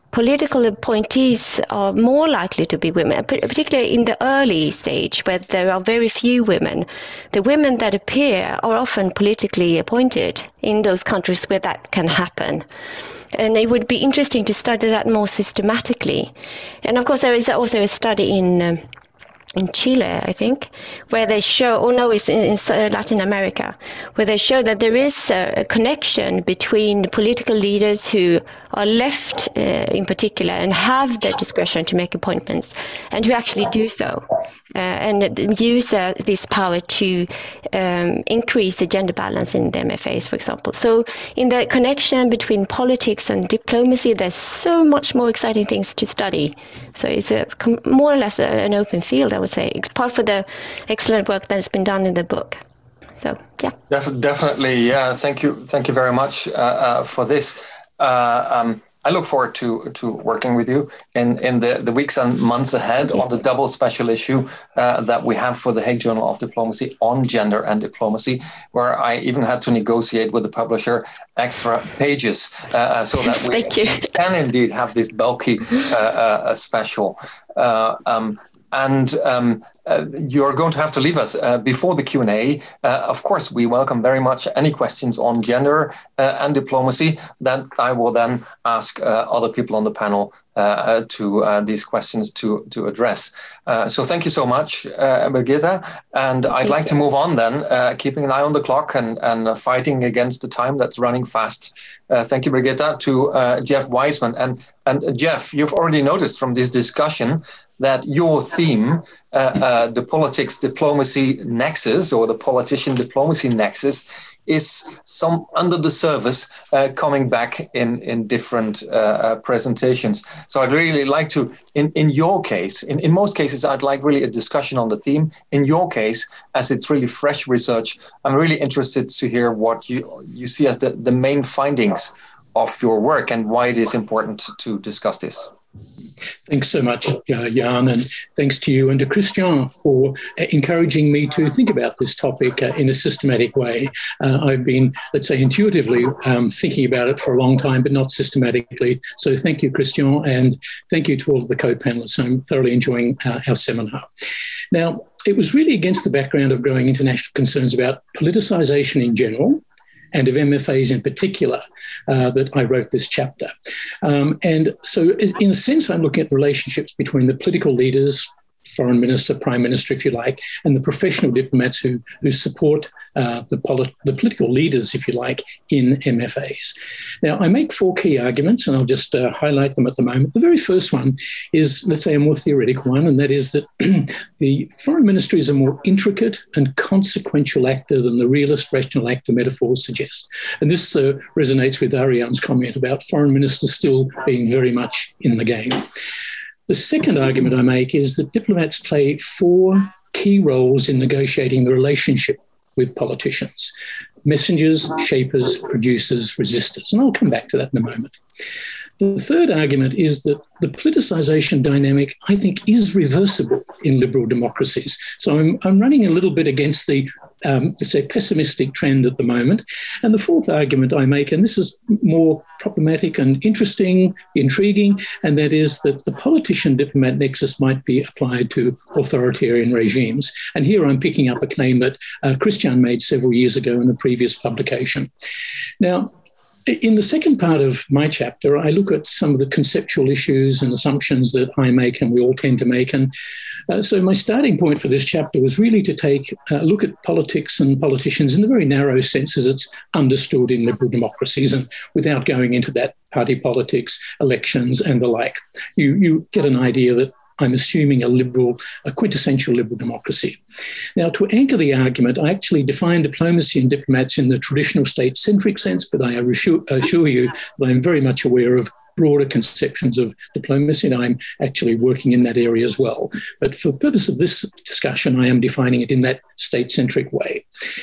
Speaker 5: political appointees are more likely to be women, particularly in the early stage where there are very few women. The women that appear are often politically appointed in those countries where that can happen. And it would be interesting to study that more systematically. And of course, there is also a study in um, in Chile, I think, where they show, oh no, it's in, in Latin America, where they show that there is a, a connection between political leaders who are left uh, in particular and have the discretion to make appointments and who actually do so. Uh, and use uh, this power to um, increase the gender balance in the M F As, for example. So in the connection between politics and diplomacy, there's so much more exciting things to study. So it's a, more or less a, an open field, I would say. It's part of the excellent work that has been done in the book. So, yeah.
Speaker 1: Def- definitely, yeah. Thank you. Thank you very much uh, uh, for this. Uh, um, I look forward to to working with you in, in the, the weeks and months ahead on the double special issue uh, that we have for the Hague Journal of Diplomacy on gender and diplomacy, where I even had to negotiate with the publisher extra pages uh, so that we can indeed have this bulky uh, uh, special. Uh, um, And um, uh, you're going to have to leave us uh, before the Q and A. Uh, of course, we welcome very much any questions on gender uh, and diplomacy that I will then ask uh, other people on the panel uh, to uh, these questions to, to address. Uh, so thank you so much, uh, Birgitta. And I'd
Speaker 5: thank
Speaker 1: like
Speaker 5: you.
Speaker 1: to move on then, uh, keeping an eye on the clock and, and uh, fighting against the time that's running fast. Uh, thank you, Birgitta, to uh, Jeff Wiseman. And, and Jeff, you've already noticed from this discussion that your theme, uh, uh, the politics diplomacy nexus or the politician diplomacy nexus, is some under the surface uh, coming back in, in different uh, uh, presentations. So I'd really like to, in, in your case, in, in most cases, I'd like really a discussion on the theme. In your case, as it's really fresh research, I'm really interested to hear what you, you see as the, the main findings of your work and why it is important to discuss this.
Speaker 6: Thanks so much, uh, Jan, and thanks to you and to Christian for uh, encouraging me to think about this topic uh, in a systematic way. Uh, I've been, let's say, intuitively um, thinking about it for a long time, but not systematically. So thank you, Christian, and thank you to all of the co-panelists. I'm thoroughly enjoying uh, our seminar. Now, it was really against the background of growing international concerns about politicisation in general, and of M F As in particular, uh, that I wrote this chapter. Um, and so in a sense, I'm looking at the relationships between the political leaders, foreign minister, prime minister, if you like, and the professional diplomats who, who support uh, the, polit- the political leaders, if you like, in M F As. Now, I make four key arguments, and I'll just uh, highlight them at the moment. The very first one is, let's say, a more theoretical one, and that is that the foreign ministry is a more intricate and consequential actor than the realist rational actor metaphors suggest. And this uh, resonates with Ariane's comment about foreign ministers still being very much in the game. The second argument I make is that diplomats play four key roles in negotiating the relationship with politicians: messengers, shapers, producers, resistors. And I'll come back to that in a moment. The third argument is that the politicisation dynamic, I think, is reversible in liberal democracies. So I'm, I'm running a little bit against the, um, let's say, pessimistic trend at the moment. And the fourth argument I make, and this is more problematic and interesting, intriguing, and that is that the politician-diplomat nexus might be applied to authoritarian regimes. And here I'm picking up a claim that uh, Christian made several years ago in a previous publication. Now, in the second part of my chapter, I look at some of the conceptual issues and assumptions that I make and we all tend to make. And uh, so my starting point for this chapter was really to take a look at politics and politicians in the very narrow sense as it's understood in liberal democracies, and without going into that party politics, elections and the like. You, you get an idea that I'm assuming a liberal, a quintessential liberal democracy. Now, to anchor the argument, I actually define diplomacy and diplomats in the traditional state-centric sense, but I assure, assure you that I'm very much aware of broader conceptions of diplomacy, and I'm actually working in that area as well. But for the purpose of this discussion, I am defining it in that state-centric way.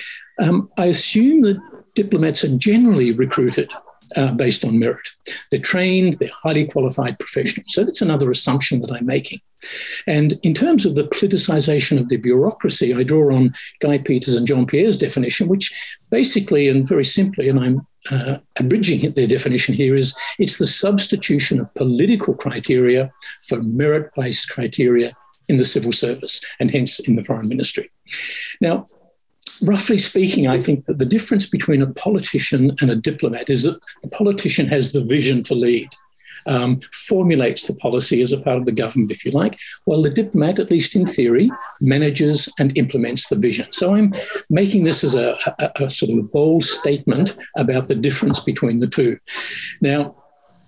Speaker 6: Um, I assume that diplomats are generally recruited Uh, based on merit. They're trained, they're highly qualified professionals. So that's another assumption that I'm making. And in terms of the politicization of the bureaucracy, I draw on Guy Peters and Jean Pierre's definition, which basically and very simply, and I'm uh, abridging their definition here, is it's the substitution of political criteria for merit-based criteria in the civil service and hence in the foreign ministry. Now, roughly speaking, I think that the difference between a politician and a diplomat is that the politician has the vision to lead, um, formulates the policy as a part of the government, if you like, while the diplomat, at least in theory, manages and implements the vision. So I'm making this as a, a, a sort of a bold statement about the difference between the two. Now,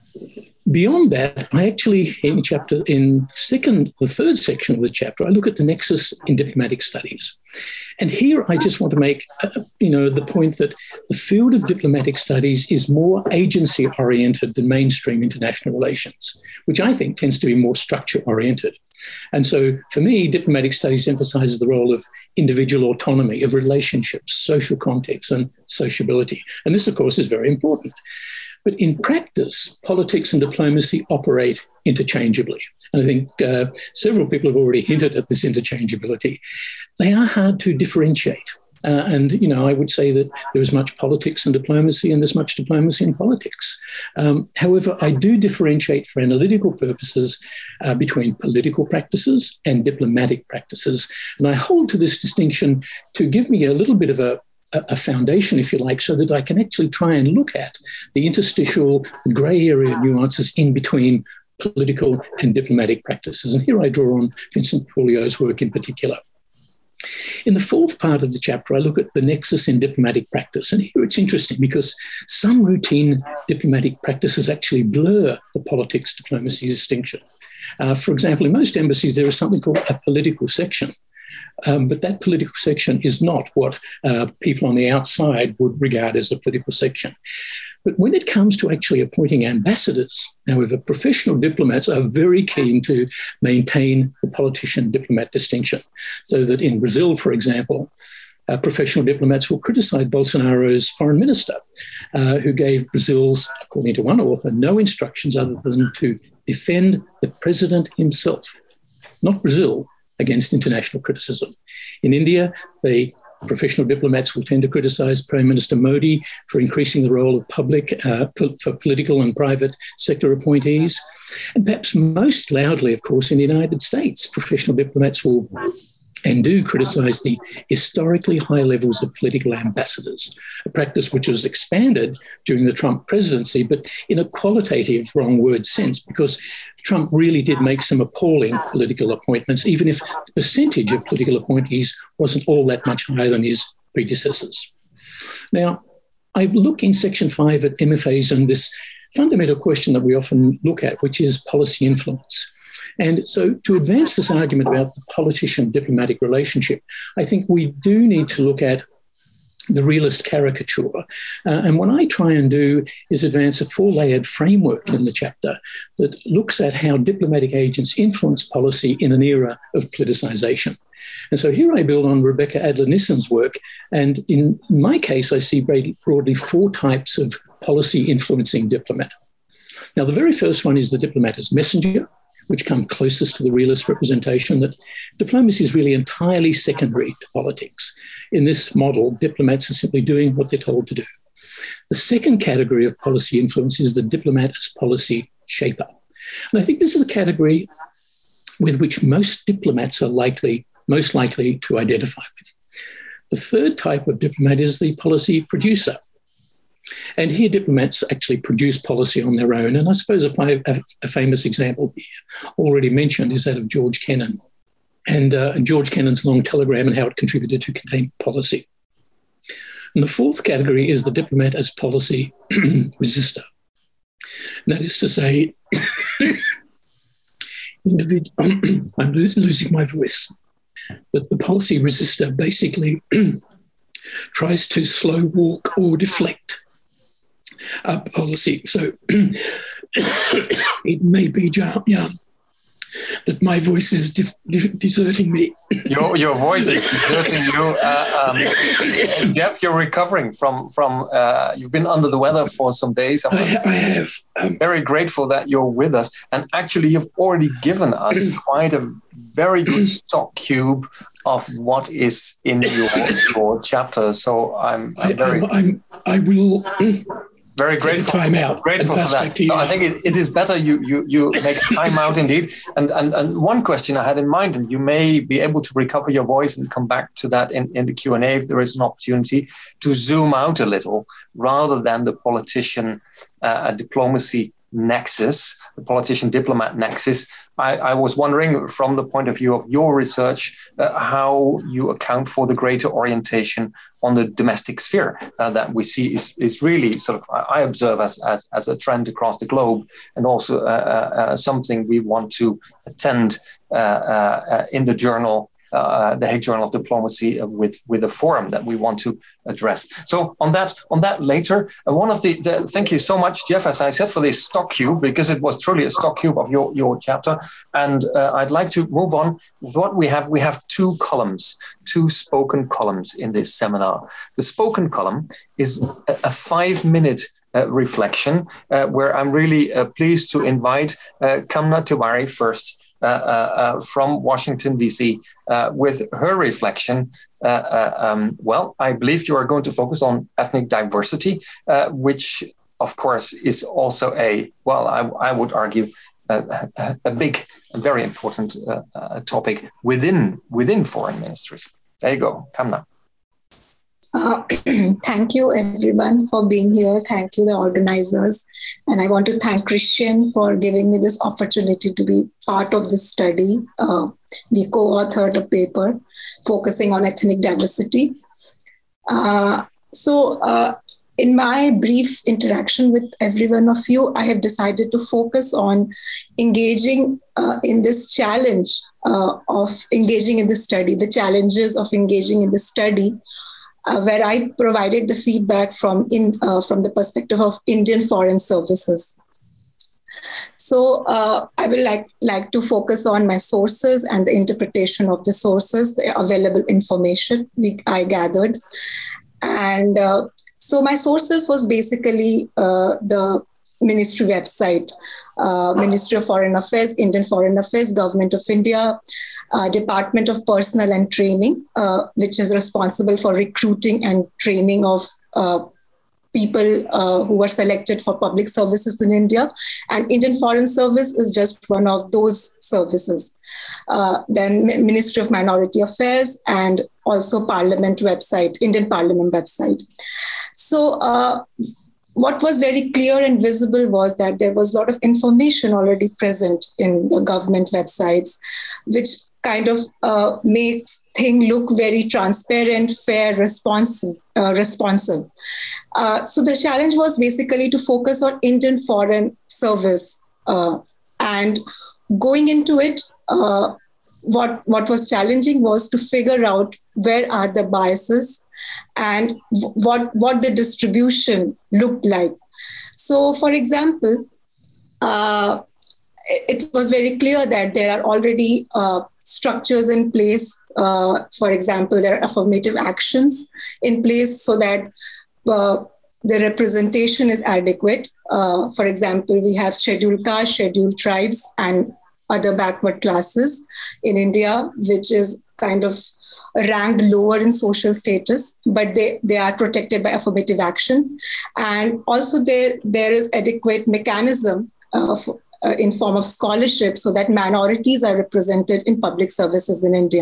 Speaker 6: beyond that, I actually, in chapter, in second, the third section of the chapter, I look at the nexus in diplomatic studies. And here I just want to make, uh, you know, the point that the field of diplomatic studies is more agency-oriented than mainstream international relations, which I think tends to be more structure-oriented. And so for me, diplomatic studies emphasizes the role of individual autonomy, of relationships, social context, and sociability. And this, of course, is very important. But in practice, politics and diplomacy operate interchangeably. And I think uh, several people have already hinted at this interchangeability. They are hard to differentiate. Uh, and, you know, I would say that there is much politics and diplomacy and there's much diplomacy in politics. Um, however, I do differentiate for analytical purposes uh, between political practices and diplomatic practices. And I hold to this distinction to give me a little bit of a a foundation, if you like, so that I can actually try and look at the interstitial, the grey area nuances in between political and diplomatic practices. And here I draw on Vincent Pouliot's work in particular. In the fourth part of the chapter, I look at the nexus in diplomatic practice. And here it's interesting because some routine diplomatic practices actually blur the politics-diplomacy distinction. Uh, for example, in most embassies, there is something called a political section. Um, but that political section is not what uh, people on the outside would regard as a political section. But when it comes to actually appointing ambassadors, however, professional diplomats are very keen to maintain the politician-diplomat distinction. So that in Brazil, for example, uh, professional diplomats will criticize Bolsonaro's foreign minister, uh, who gave Brazil's, according to one author, no instructions other than to defend the president himself, not Brazil, against international criticism. In India, the professional diplomats will tend to criticize Prime Minister Modi for increasing the role of public, uh, for political and private sector appointees. And perhaps most loudly, of course, in the United States, professional diplomats will and do criticize the historically high levels of political ambassadors, a practice which was expanded during the Trump presidency, but in a qualitative, wrong word sense, because Trump really did make some appalling political appointments, even if the percentage of political appointees wasn't all that much higher than his predecessors. Now, I look in section five at M F As and this fundamental question that we often look at, which is policy influence. And so to advance this argument about the politician-diplomatic relationship, I think we do need to look at the realist caricature. Uh, and what I try and do is advance a four-layered framework in the chapter that looks at how diplomatic agents influence policy in an era of politicization. And so here I build on Rebecca Adler-Nissen's work. And in my case, I see broadly four types of policy influencing diplomat. Now, the very first one is the diplomat as messenger, which come closest to the realist representation that diplomacy is really entirely secondary to politics. In this model, diplomats are simply doing what they're told to do. The second category of policy influence is the diplomat as policy shaper. And I think this is a category with which most diplomats are likely, most likely to identify with. The third type of diplomat is the policy producer. And here diplomats actually produce policy on their own. And I suppose a, fi- a famous example here already mentioned is that of George Kennan and, uh, and George Kennan's long telegram and how it contributed to containment policy. And the fourth category is the diplomat as policy resistor. And that is to say, individ- I'm lo- losing my voice, that the policy resistor basically tries to slow walk or deflect Uh, policy. So it may be, Jan, that my voice is de- de- deserting me.
Speaker 1: Your your voice is deserting you. Uh, um, Jeff, you're recovering from, from uh, you've been under the weather for some days. I'm
Speaker 6: I, I have.
Speaker 1: Um, very grateful that you're with us. And actually, you've already given us quite a very good stock cube of what is in your, your chapter. So I'm, I'm
Speaker 6: I,
Speaker 1: very...
Speaker 6: I'm, I'm, I will...
Speaker 1: Very grateful.
Speaker 6: Time out.
Speaker 1: Grateful for that. So I think it, it is better you you you make time out indeed. And, and and one question I had in mind, and you may be able to recover your voice and come back to that in, in the Q and A if there is an opportunity to zoom out a little, rather than the politician uh, diplomacy nexus, the politician diplomat nexus. I, I was wondering, from the point of view of your research, uh, how you account for the greater orientation on the domestic sphere uh, that we see is, is really sort of, I observe as, as, as a trend across the globe, and also uh, uh, something we want to attend uh, uh, in the journal, Uh, the Hague Journal of Diplomacy, uh, with with a forum that we want to address. So on that on that later, uh, one of the, the thank you so much, Jeff, as I said, for this stock cube, because it was truly a stock cube of your your chapter. And uh, I'd like to move on with what we have. We have two columns, two spoken columns in this seminar. The spoken column is a, a five minute uh, reflection uh, where I'm really uh, pleased to invite uh, Kamna Tiwari first. Uh, uh, uh, from Washington, D C, uh, with her reflection. Uh, uh, um, well, I believe you are going to focus on ethnic diversity, uh, which, of course, is also a, well, I, I would argue, uh, a big and very important uh, uh, topic within within foreign ministries. There you go, Kamna.
Speaker 7: Uh, thank you, everyone, for being here. Thank you, the organizers. And I want to thank Christian for giving me this opportunity to be part of this study. Uh, we co-authored a paper focusing on ethnic diversity. Uh, so uh, in my brief interaction with every one of you, I have decided to focus on engaging uh, in this challenge uh, of engaging in the study, the challenges of engaging in the study, Uh, where I provided the feedback from in uh, from the perspective of Indian Foreign Services. So uh, I will like, like to focus on my sources and the interpretation of the sources, the available information we, I gathered. And uh, so my sources was basically uh, the ministry website, uh, Ministry of Foreign Affairs, Indian Foreign Affairs, Government of India, uh, Department of Personnel and Training, uh, which is responsible for recruiting and training of uh, people uh, who were selected for public services in India. And Indian Foreign Service is just one of those services. Uh, then Ministry of Minority Affairs, and also Parliament website, Indian Parliament website. So, uh, what was very clear and visible was that there was a lot of information already present in the government websites, which kind of uh, makes things look very transparent, fair, responsive. Uh, responsive. Uh, so the challenge was basically to focus on Indian Foreign Service. Uh, and going into it, uh, what, what was challenging was to figure out where are the biases and what, what the distribution looked like. So, for example, uh, it was very clear that there are already uh, structures in place. Uh, for example, there are affirmative actions in place so that uh, the representation is adequate. Uh, for example, we have scheduled castes, scheduled tribes, and other backward classes in India, which is kind of ranked lower in social status, but they, they are protected by affirmative action. And also there, there is adequate mechanism uh, for, uh, in form of scholarship so that minorities are represented in public services in India.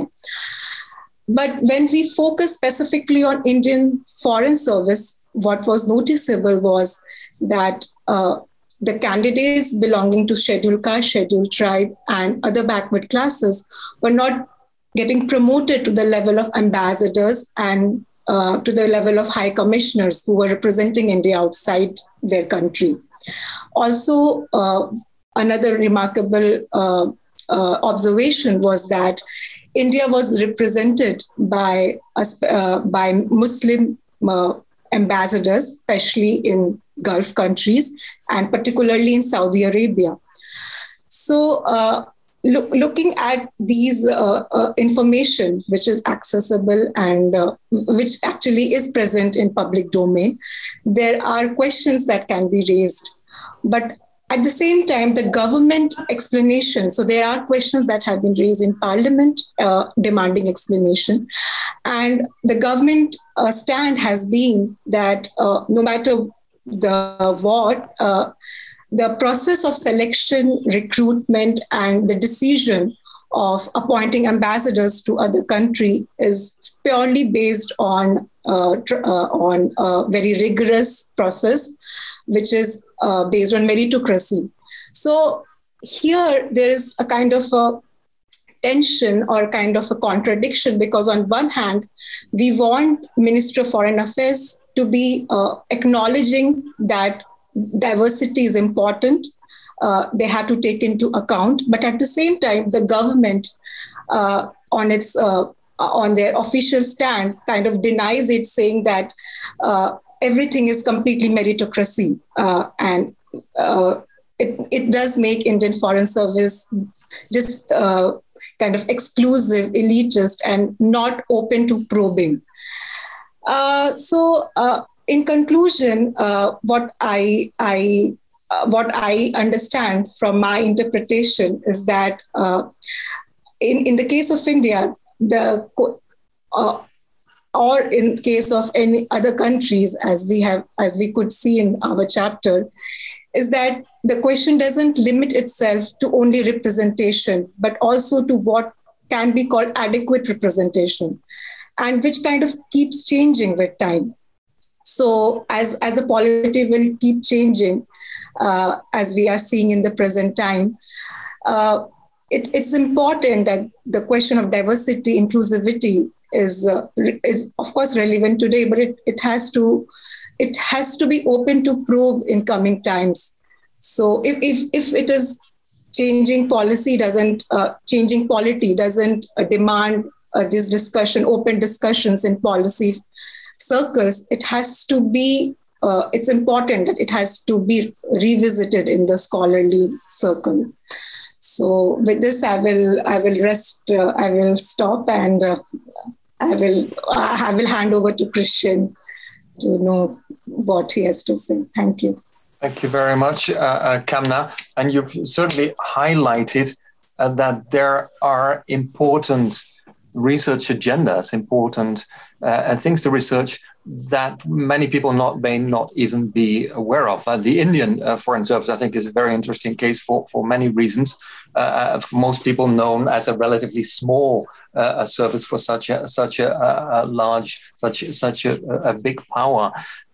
Speaker 7: But when we focus specifically on Indian Foreign Service, what was noticeable was that uh, the candidates belonging to scheduled caste, scheduled tribe, and other backward classes were not getting promoted to the level of ambassadors and uh, to the level of high commissioners who were representing India outside their country. Also, uh, another remarkable uh, uh, observation was that India was represented by, uh, by Muslim uh, ambassadors, especially in Gulf countries, and particularly in Saudi Arabia. So, uh, Look, looking at these uh, uh, information, which is accessible and uh, which actually is present in public domain, there are questions that can be raised. But at the same time, the government explanation, so there are questions that have been raised in Parliament uh, demanding explanation. And the government uh, stand has been that uh, no matter the war, uh, the process of selection, recruitment, and the decision of appointing ambassadors to other country is purely based on uh, tr- uh, on a very rigorous process, which is uh, based on meritocracy. So here there is a kind of a tension or kind of a contradiction, because on one hand, we want Ministry of Foreign Affairs to be uh, acknowledging that diversity is important. Uh, they have to take into account, but at the same time, the government uh, on its uh, on their official stand kind of denies it, saying that uh, everything is completely meritocracy, uh, and uh, it it does make Indian Foreign Service just uh, kind of exclusive, elitist, and not open to probing. Uh, so, uh, in conclusion, uh, what I I Uh, what I understand from my interpretation is that uh, in, in the case of India, the uh, or in case of any other countries, as we have, as we could see in our chapter, is that the question doesn't limit itself to only representation, but also to what can be called adequate representation, and which kind of keeps changing with time. So as, as the polity will keep changing, uh, as we are seeing in the present time, uh, it, it's important that the question of diversity, inclusivity is, uh, is of course relevant today, but it, it has to it has to be open to probe in coming times. So if if, if it is changing policy doesn't, uh, changing polity doesn't uh, demand uh, this discussion, open discussions in policy circles, it has to be, uh, it's important that it has to be revisited in the scholarly circle. So with this, I will, I will rest, uh, I will stop, and uh, I will, I will hand over to Christian to know what he has to say. Thank you.
Speaker 1: Thank you very much, uh, uh, Kamna. And you've certainly highlighted uh, that there are important research agendas, important uh, things to research that many people not may not even be aware of. Uh, the Indian uh, Foreign Service, I think, is a very interesting case for, for many reasons. Uh, for most people known as a relatively small uh, service for such a such a, a large, such such a, a big power.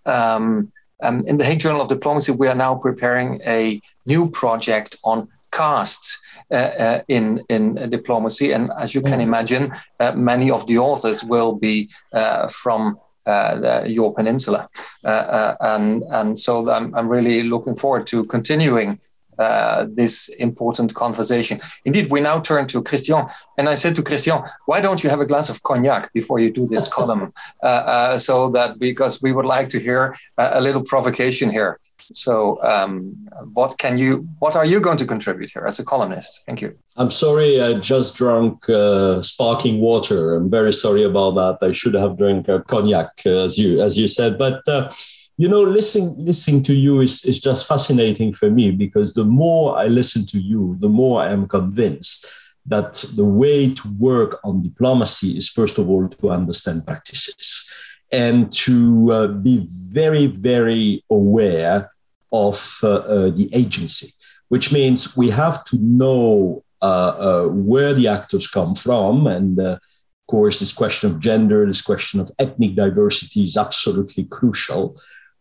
Speaker 1: Um, um, in the Hague Journal of Diplomacy, we are now preparing a new project on castes uh, uh, in in diplomacy, and as you can imagine, uh, many of the authors will be uh, from uh, the, your peninsula, uh, uh, and and so I'm I'm really looking forward to continuing uh, this important conversation. Indeed, we now turn to Christian, and I said to Christian, why don't you have a glass of cognac before you do this column, uh, uh, so that because we would like to hear a, a little provocation here. So um, what can you, what are you going to contribute here as a columnist? Thank you.
Speaker 2: I'm sorry, I just drank uh, sparkling water. I'm very sorry about that. I should have drank uh, cognac, uh, as you as you said. But, uh, you know, listening, listening to you is, is just fascinating for me, because the more I listen to you, the more I am convinced that the way to work on diplomacy is, first of all, to understand practices and to uh, be very, very aware of uh, uh, the agency, which means we have to know uh, uh, where the actors come from. And uh, of course, this question of gender, this question of ethnic diversity is absolutely crucial.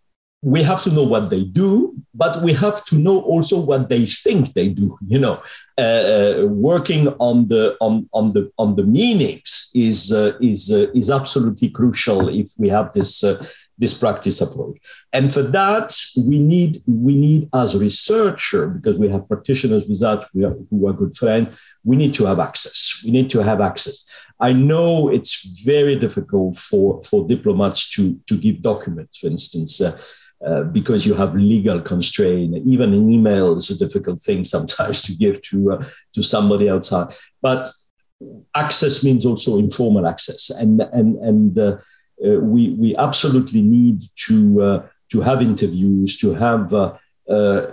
Speaker 2: We have to know what they do, but we have to know also what they think they do. You know, uh, working on the on on the on the meanings is uh, is uh, is absolutely crucial if we have this uh, this practice approach. And for that, we need we need as a researcher, because we have practitioners with that we are, who are good friends. We need to have access. We need to have access. I know it's very difficult for for diplomats to to give documents, for instance. Uh, Uh, because you have legal constraint. Even an email is a difficult thing sometimes to give to uh, to somebody outside. But access means also informal access, and and and uh, uh, we we absolutely need to uh, to have interviews, to have uh, uh,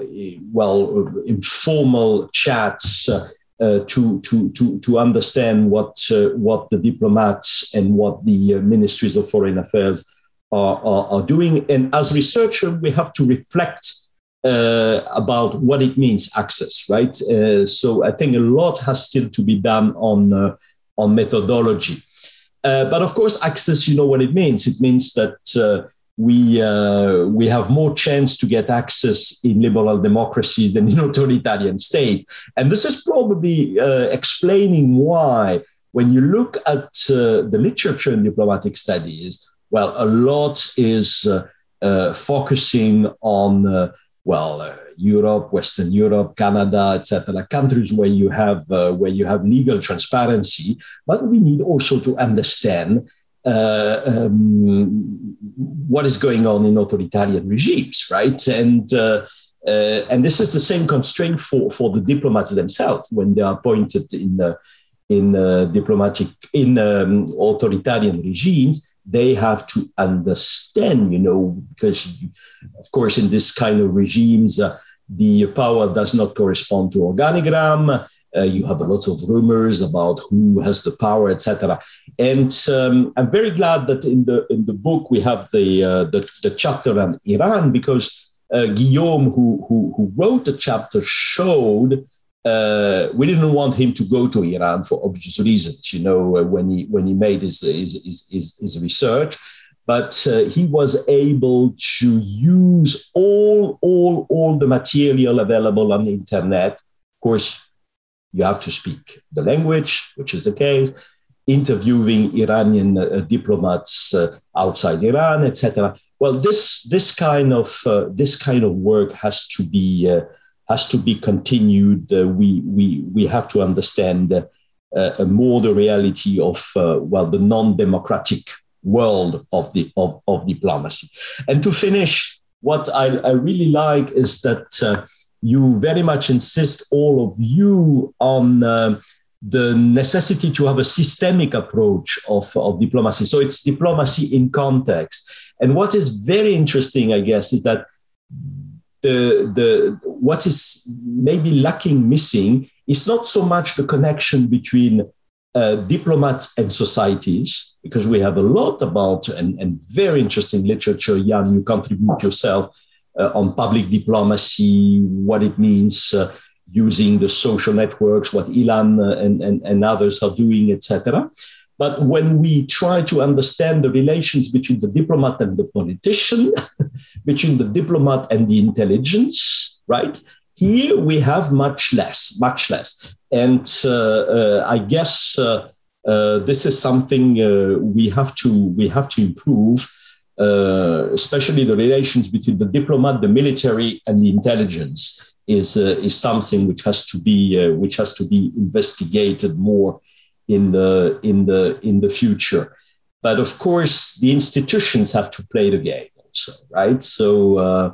Speaker 2: well informal chats uh, uh, to to to to understand what uh, what the diplomats and what the uh, ministries of foreign affairs are, are, are doing. And as researchers, we have to reflect uh, about what it means, access, right? Uh, so I think a lot has still to be done on, uh, on methodology. Uh, but of course, access, you know what it means. It means that uh, we uh, we have more chance to get access in liberal democracies than in authoritarian state. And this is probably uh, explaining why, when you look at uh, the literature in diplomatic studies, well, a lot is uh, uh, focusing on, uh, well, uh, Europe, Western Europe, Canada, et cetera, countries where you have uh, where you have legal transparency. But we need also to understand Uh, um, what is going on in authoritarian regimes, right? And uh, uh, and this is the same constraint for, for the diplomats themselves when they are appointed in uh, in uh, diplomatic in um, authoritarian regimes. They have to understand, you know, because of course in this kind of regimes uh, the power does not correspond to organigram. Uh, you have a lot of rumors about who has the power, et cetera. And um, I'm very glad that in the in the book we have the uh, the, the chapter on Iran, because uh, Guillaume, who, who who wrote the chapter, showed uh, we didn't want him to go to Iran for obvious reasons. You know, uh, when he when he made his his his, his, his research, but uh, he was able to use all all all the material available on the internet. Of course, you have to speak the language, which is the case, interviewing Iranian uh, diplomats uh, outside Iran, et cetera. Well, this this kind of uh, this kind of work has to be uh, has to be continued. Uh, we we we have to understand uh, uh, more the reality of uh, well the non-democratic world of the of, of diplomacy. And to finish, what I, I really like is that. Uh, You very much insist, all of you, on uh, the necessity to have a systemic approach of, of diplomacy. So it's diplomacy in context. And what is very interesting, I guess, is that the, the what is maybe lacking, missing, is not so much the connection between uh, diplomats and societies, because we have a lot about, and, and very interesting literature, Jan, you contribute yourself, Uh, on public diplomacy, what it means uh, using the social networks, what Ilan uh, and, and, and others are doing, et cetera. But when we try to understand the relations between the diplomat and the politician, between the diplomat and the intelligence, right? Here we have much less, much less. And uh, uh, I guess uh, uh, this is something uh, we have to we have to improve. Uh, especially the relations between the diplomat, the military, and the intelligence is uh, is something which has to be uh, which has to be investigated more in the in the in the future. But of course, the institutions have to play the game also, right? So uh,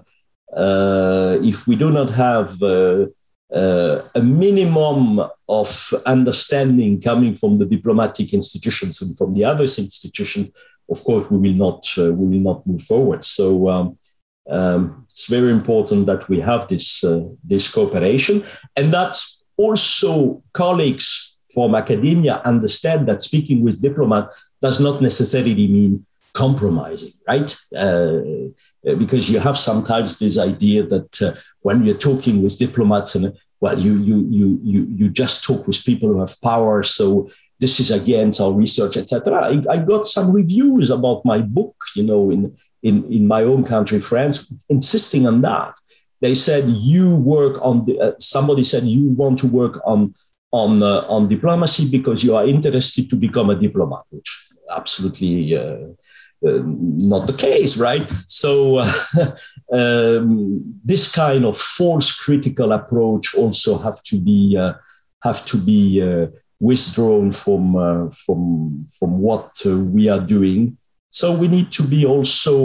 Speaker 2: uh, if we do not have uh, uh, a minimum of understanding coming from the diplomatic institutions and from the other institutions, of course, we will not uh, we will not move forward. So um, um, it's very important that we have this uh, this cooperation, and that also colleagues from academia understand that speaking with diplomats does not necessarily mean compromising, right? Uh, because you have sometimes this idea that uh, when you're talking with diplomats, and well, you you you you you just talk with people who have power, so this is against our research, et cetera. I, I got some reviews about my book, you know, in, in, in my own country, France, insisting on that. They said, you work on, the, uh, somebody said, you want to work on, on, uh, on diplomacy because you are interested to become a diplomat, which absolutely uh, uh, not the case, right? So uh, um, this kind of false critical approach also have to be, uh, have to be, uh, withdrawn from uh, from from what uh, we are doing. So we need to be also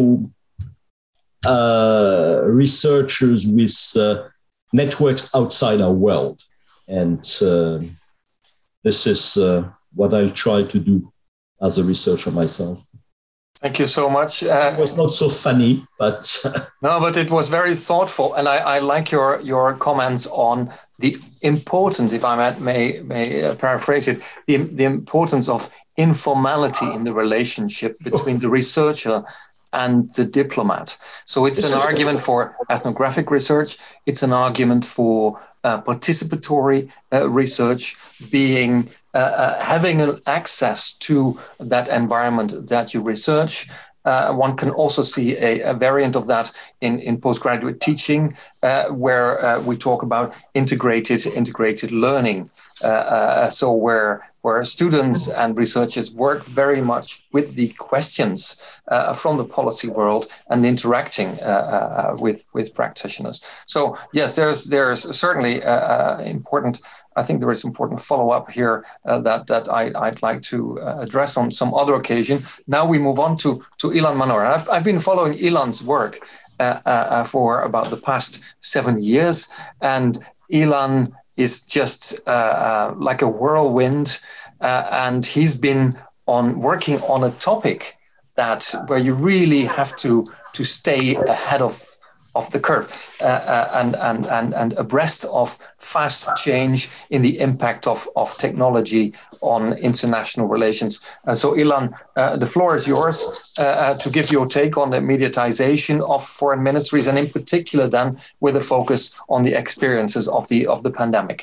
Speaker 2: uh, researchers with uh, networks outside our world, and uh, this is uh, what I try to do as a researcher myself.
Speaker 1: Thank you so much. Uh,
Speaker 2: it was not so funny, but
Speaker 1: no, but it was very thoughtful, and I, I like your your comments on the importance, if I may may uh, paraphrase it, the the importance of informality in the relationship between the researcher and the diplomat. So it's an argument for ethnographic research. It's an argument for uh, participatory uh, research, being uh, uh, having an access to that environment that you research. Uh, one can also see a, a variant of that in, in postgraduate teaching, uh, where uh, we talk about integrated integrated learning. Uh, uh, so where where students and researchers work very much with the questions uh, from the policy world and interacting uh, uh, with with practitioners. So yes, there's there's certainly uh, uh, important. I think there is important follow-up here uh, that that I, I'd like to uh, address on some other occasion. Now we move on to to Ilan Manor. I've I've been following Ilan's work uh, uh, for about the past seven years, and Ilan is just uh, uh, like a whirlwind, uh, and he's been on working on a topic that where you really have to to stay ahead of of the curve uh, uh, and, and, and, and abreast of fast change in the impact of, of technology on international relations. Uh, so Ilan, uh, the floor is yours uh, uh, to give your take on the mediatization of foreign ministries, and in particular then with a focus on the experiences of the, of the pandemic.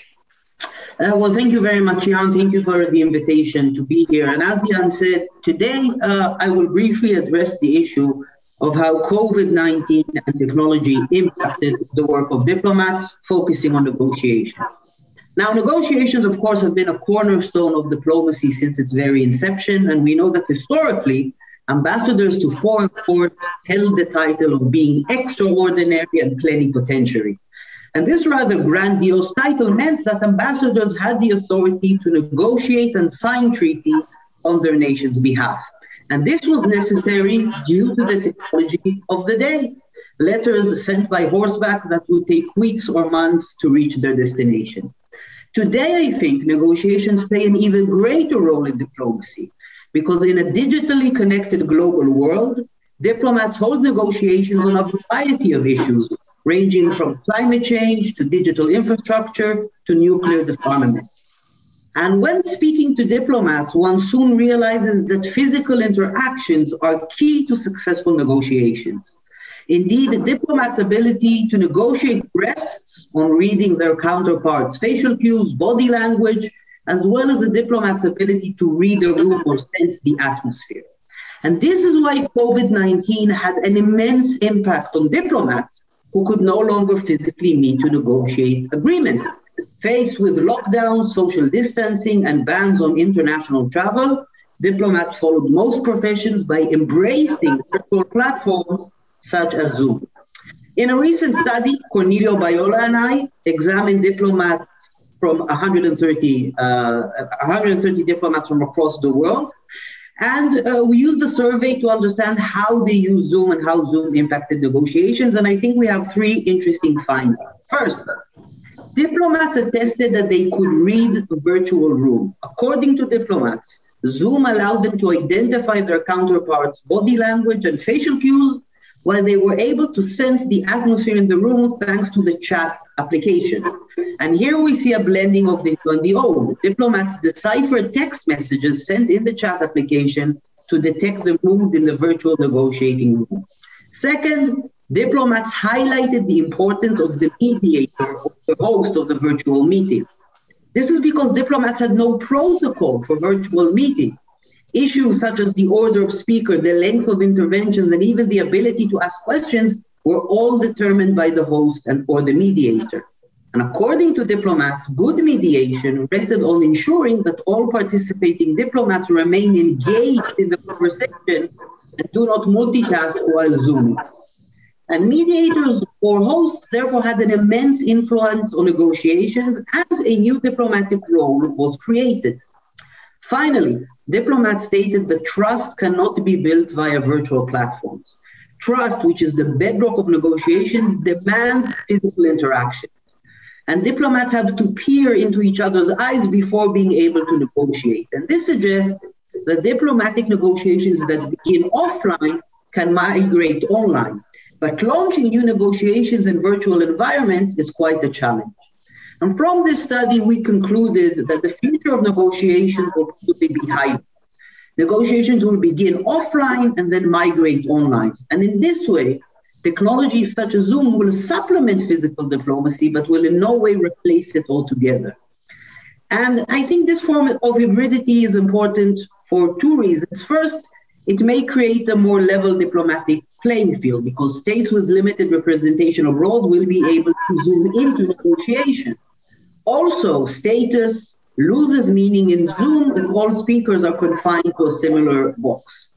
Speaker 8: Uh, well, thank you very much, Jan. Thank you for the invitation to be here. And as Jan said, today uh, I will briefly address the issue of how COVID nineteen and technology impacted the work of diplomats, focusing on negotiation. Now, negotiations, of course, have been a cornerstone of diplomacy since its very inception, and we know that historically, ambassadors to foreign courts held the title of being extraordinary and plenipotentiary. And this rather grandiose title meant that ambassadors had the authority to negotiate and sign treaties on their nation's behalf. And this was necessary due to the technology of the day. Letters sent by horseback that would take weeks or months to reach their destination. Today, I think negotiations play an even greater role in diplomacy, because in a digitally connected global world, diplomats hold negotiations on a variety of issues, ranging from climate change to digital infrastructure to nuclear disarmament. And when speaking to diplomats, one soon realizes that physical interactions are key to successful negotiations. Indeed, a diplomat's ability to negotiate rests on reading their counterparts' facial cues, body language, as well as a diplomat's ability to read the room or sense the atmosphere. And this is why COVID nineteen had an immense impact on diplomats who could no longer physically meet to negotiate agreements. Faced with lockdowns, social distancing, and bans on international travel, diplomats followed most professions by embracing virtual platforms such as Zoom. In a recent study, Cornelio Baiola and I examined diplomats from one hundred thirty, uh, one hundred thirty diplomats from across the world. And uh, we used the survey to understand how they use Zoom and how Zoom impacted negotiations. And I think we have three interesting findings. First, diplomats attested that they could read the virtual room. According to diplomats, Zoom allowed them to identify their counterparts' body language and facial cues, while they were able to sense the atmosphere in the room thanks to the chat application. And here we see a blending of the new and the old. Diplomats deciphered text messages sent in the chat application to detect the mood in the virtual negotiating room. Second, diplomats highlighted the importance of the mediator or the host of the virtual meeting. This is because diplomats had no protocol for virtual meetings. Issues such as the order of speaker, the length of interventions, and even the ability to ask questions were all determined by the host and or the mediator. And according to diplomats, good mediation rested on ensuring that all participating diplomats remain engaged in the conversation and do not multitask while Zooming. And mediators or hosts therefore had an immense influence on negotiations, and a new diplomatic role was created. Finally, diplomats stated that trust cannot be built via virtual platforms. Trust, which is the bedrock of negotiations, demands physical interaction. And diplomats have to peer into each other's eyes before being able to negotiate. And this suggests that diplomatic negotiations that begin offline can migrate online. But launching new negotiations in virtual environments is quite a challenge. And from this study, we concluded that the future of negotiations will probably be hybrid. negotiations will begin offline and then migrate online. And in this way, technologies such as Zoom will supplement physical diplomacy, but will in no way replace it altogether. And I think this form of hybridity is important for two reasons. First, it may create a more level diplomatic playing field because states with limited representation abroad will be able to zoom into negotiation. Also, status loses meaning in Zoom if all speakers are confined to a similar box.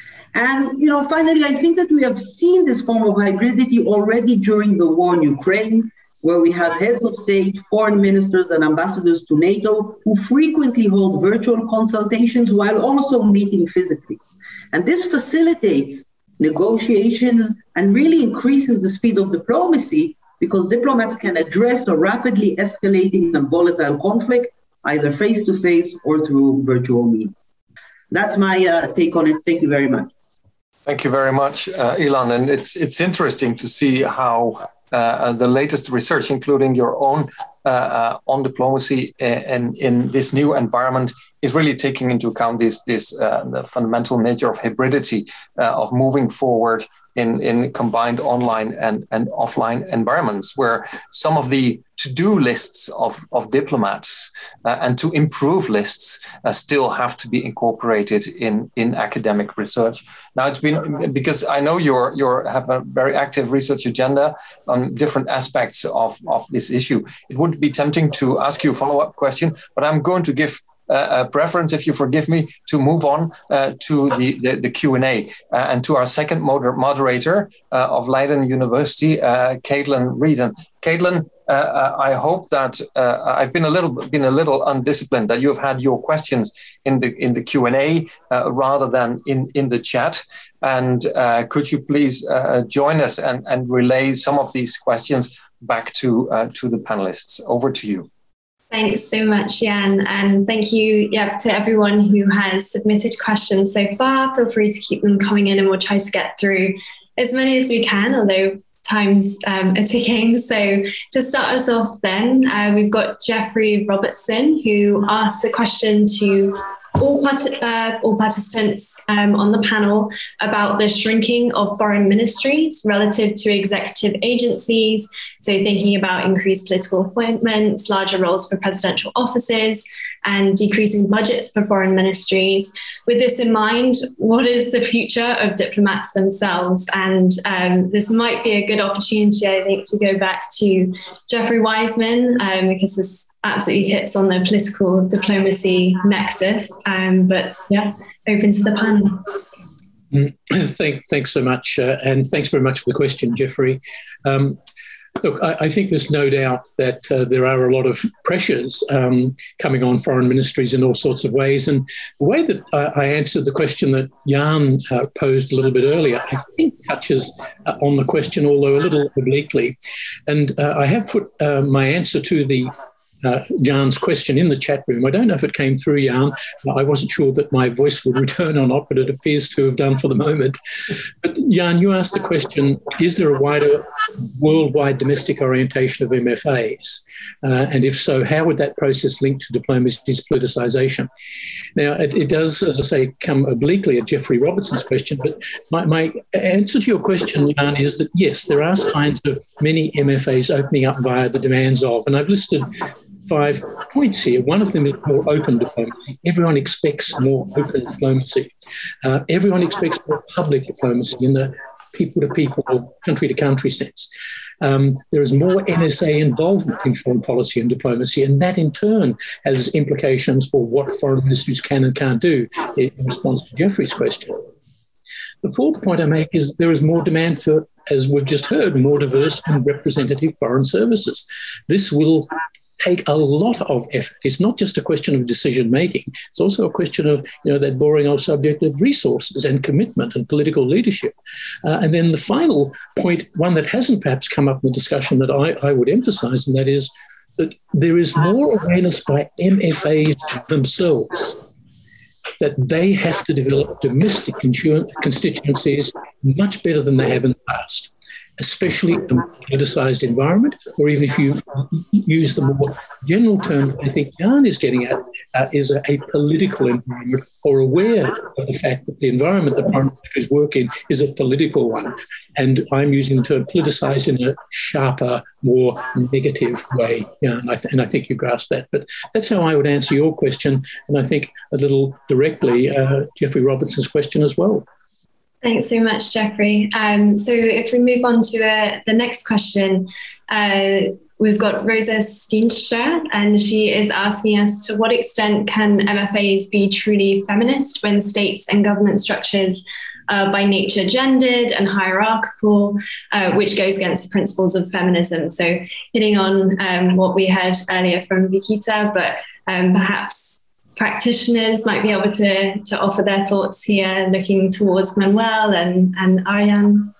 Speaker 8: And, you know, finally, I think that we have seen this form of hybridity already during the war in Ukraine, where we have heads of state, foreign ministers, and ambassadors to NATO who frequently hold virtual consultations while also meeting physically. And this facilitates negotiations and really increases the speed of diplomacy because diplomats can address a rapidly escalating and volatile conflict, either face-to-face or through virtual means. That's my uh, take on it. Thank you very much.
Speaker 1: Thank you very much, uh, Ilan. And it's it's interesting to see how uh, the latest research, including your own uh, uh, on diplomacy and in this new environment, is really taking into account this this uh, the fundamental nature of hybridity, uh, of moving forward in, in combined online and, and offline environments, where some of the to-do lists of, of diplomats uh, and to improve lists uh, still have to be incorporated in, in academic research. Now it's been, because I know you're, you're have a very active research agenda on different aspects of, of this issue. It would be tempting to ask you a follow-up question, but I'm going to give Uh, a preference, if you forgive me, to move on uh, to the, the, the Q and A uh, and to our second moder- moderator uh, of Leiden University, uh, Caitlin Reed. And Caitlin, uh, uh, I hope that uh, I've been a little been a little undisciplined, that you have had your questions in the in the Q and A uh, rather than in, in the chat. And uh, could you please uh, join us and, and relay some of these questions back to uh, to the panelists? Over to you.
Speaker 9: Thanks so much, Jan, and thank you yeah, to everyone who has submitted questions so far. Feel free to keep them coming in and we'll try to get through as many as we can, although time's um, are ticking. So to start us off then, uh, we've got Jeffrey Robertson, who asked a question to all, part- uh, all participants um, on the panel about the shrinking of foreign ministries relative to executive agencies. So thinking about increased political appointments, larger roles for presidential offices, and decreasing budgets for foreign ministries. With this in mind, what is the future of diplomats themselves? And um, this might be a good opportunity, I think, to go back to Jeffrey Wiseman, um, because this absolutely hits on the political diplomacy nexus. Um, but yeah, open to the panel.
Speaker 6: Thank, thanks so much. Uh, and thanks very much for the question, Jeffrey. Um, Look, I, I think there's no doubt that uh, there are a lot of pressures um, coming on foreign ministries in all sorts of ways. And the way that uh, I answered the question that Jan uh, posed a little bit earlier, I think touches uh, on the question, although a little obliquely. And uh, I have put uh, my answer to the Uh, Jan's question in the chat room. I don't know if it came through, Jan. I wasn't sure that my voice would return or not, but it appears to have done for the moment. But Jan, you asked the question, is there a wider worldwide domestic orientation of M F As? Uh, and if so, how would that process link to diplomacy's politicisation? Now, it, it does, as I say, come obliquely at Jeffrey Robertson's question, but my, my answer to your question, Jan, is that yes, there are signs of many M F As opening up via the demands of, and I've listed five points here. One of them is more open diplomacy. Everyone expects more open diplomacy. Uh, everyone expects more public diplomacy in the people-to-people or country-to-country sense. Um, there is more N S A involvement in foreign policy and diplomacy, and that in turn has implications for what foreign ministries can and can't do in response to Jeffrey's question. The fourth point I make is there is more demand for, as we've just heard, more diverse and representative foreign services. This will take a lot of effort. It's not just a question of decision making. It's also a question of, you know, that boring old subject of resources and commitment and political leadership. Uh, and then the final point, one that hasn't perhaps come up in the discussion that I, I would emphasize, and that is that there is more awareness by M F As themselves that they have to develop domestic constituencies much better than they have in the past, especially in a politicized environment, or even if you use the more general term I think Jan is getting at, uh, is a, a political environment, or aware of the fact that the environment that foreign ministries work in is a political one. And I'm using the term politicise in a sharper, more negative way. Yeah, and, I th- and I think you grasp that. But that's how I would answer your question. And I think a little directly, uh, Jeffrey Robertson's question as well.
Speaker 9: Thanks so much, Jeffrey. Um, so if we move on to uh, the next question, uh, we've got Rosa Steenstra, and she is asking us, to what extent can M F As be truly feminist when states and government structures are by nature gendered and hierarchical, uh, which goes against the principles of feminism? So hitting on um, what we heard earlier from Vikita, but um, perhaps practitioners might be able to, to offer their thoughts here, looking towards Manuel and, and Arjan.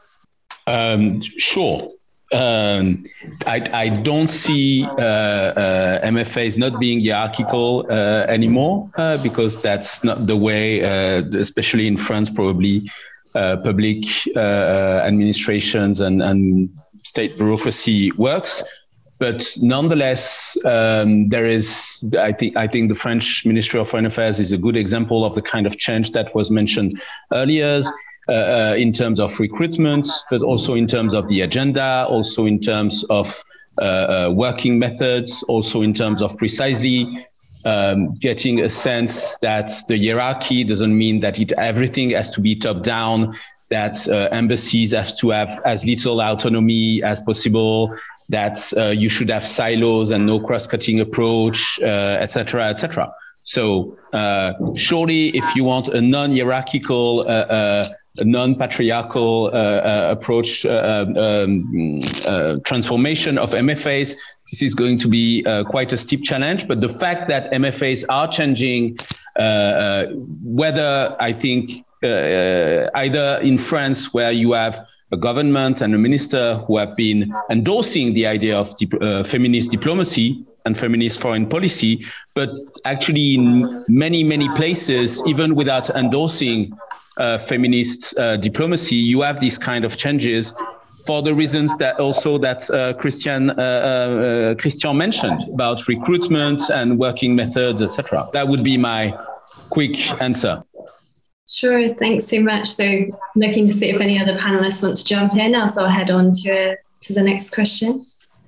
Speaker 3: Um, sure. Um, I, I don't see uh, uh, M F As not being hierarchical uh, anymore uh, because that's not the way, uh, especially in France, probably uh, public uh, administrations and, and state bureaucracy works. But nonetheless, um, there is, I think, I think the French Ministry of Foreign Affairs is a good example of the kind of change that was mentioned earlier, uh, uh, in terms of recruitment, but also in terms of the agenda, also in terms of uh, uh, working methods, also in terms of precisely um, getting a sense that the hierarchy doesn't mean that it everything has to be top down, that uh, embassies have to have as little autonomy as possible, that uh, you should have silos and no cross-cutting approach, uh, et cetera, et cetera. So uh, surely if you want a non-hierarchical, uh, uh, a non-patriarchal uh, uh, approach, uh, um, uh, transformation of M F As, this is going to be uh, quite a steep challenge. But the fact that M F As are changing, uh, uh, whether I think uh, either in France where you have a government and a minister who have been endorsing the idea of dip- uh, feminist diplomacy and feminist foreign policy, but actually in many, many places, even without endorsing uh, feminist uh, diplomacy, you have these kind of changes for the reasons that also that uh, Christian uh, uh, Christian mentioned about recruitment and working methods, et cetera. That would be my quick answer.
Speaker 9: Sure, thanks so much. So looking to see if any other panelists want to jump in, else I'll head on to, to the next question.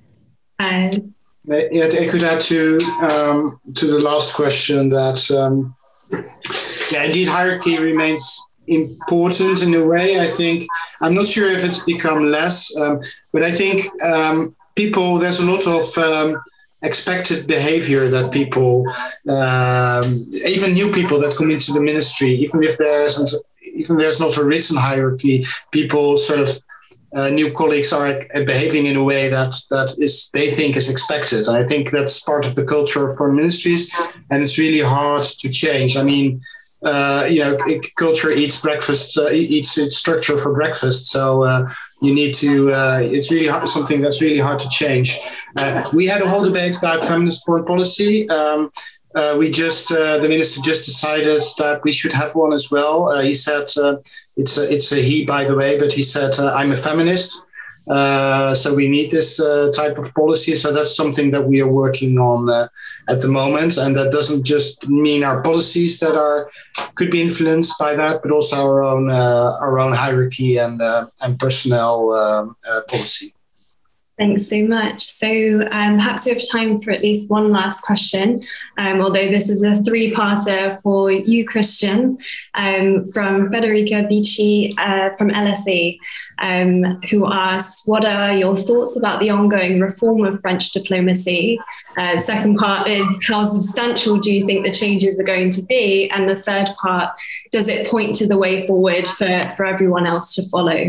Speaker 9: Uh,
Speaker 4: yeah, I could add to um, to the last question that, um, yeah, indeed, hierarchy remains important in a way. I think, I'm not sure if it's become less, um, but I think um, people, there's a lot of um, expected behavior that people, um, even new people that come into the ministry, even if there isn't, even there's not a written hierarchy, people sort of, uh, new colleagues are behaving in a way that that is they think is expected. And I think that's part of the culture of foreign ministries, and it's really hard to change. I mean, uh, you know, culture eats breakfast, uh, eats its structure for breakfast. So uh, you need to, uh, it's really hard, something that's really hard to change. Uh, we had a whole debate about feminist foreign policy. Um, uh, we just, uh, the minister just decided that we should have one as well. Uh, he said, uh, it's, a, it's a he, by the way, but he said, uh, I'm a feminist. Uh, so we need this uh, type of policy. So that's something that we are working on uh, at the moment. And that doesn't just mean our policies that are could be influenced by that, but also our own uh, our own hierarchy and uh, and personnel uh, uh, policy.
Speaker 9: Thanks so much. So um, perhaps we have time for at least one last question, um, although this is a three-parter for you, Christian, um, from Federica Bici uh, from L S E, um, who asks, what are your thoughts about the ongoing reform of French diplomacy? Uh, second part is, how substantial do you think the changes are going to be? And the third part, does it point to the way forward for, for everyone else to follow?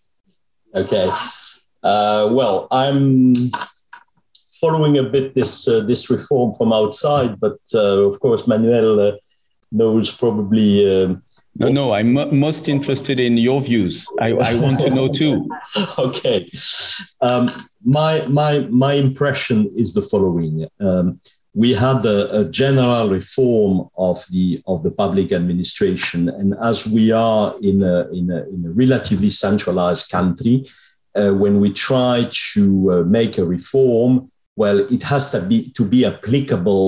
Speaker 2: Okay. Uh, well, I'm following a bit this uh, this reform from outside, but uh, of course, Manuel uh, knows probably. Um,
Speaker 3: no, no, I'm m- most interested in your views. I, I want to know too.
Speaker 2: Okay, um, my my my impression is the following: um, we had a, a general reform of the of the public administration, and as we are in a in a, in a relatively centralized country. Uh, when we try to uh, make a reform, well, it has to be to be applicable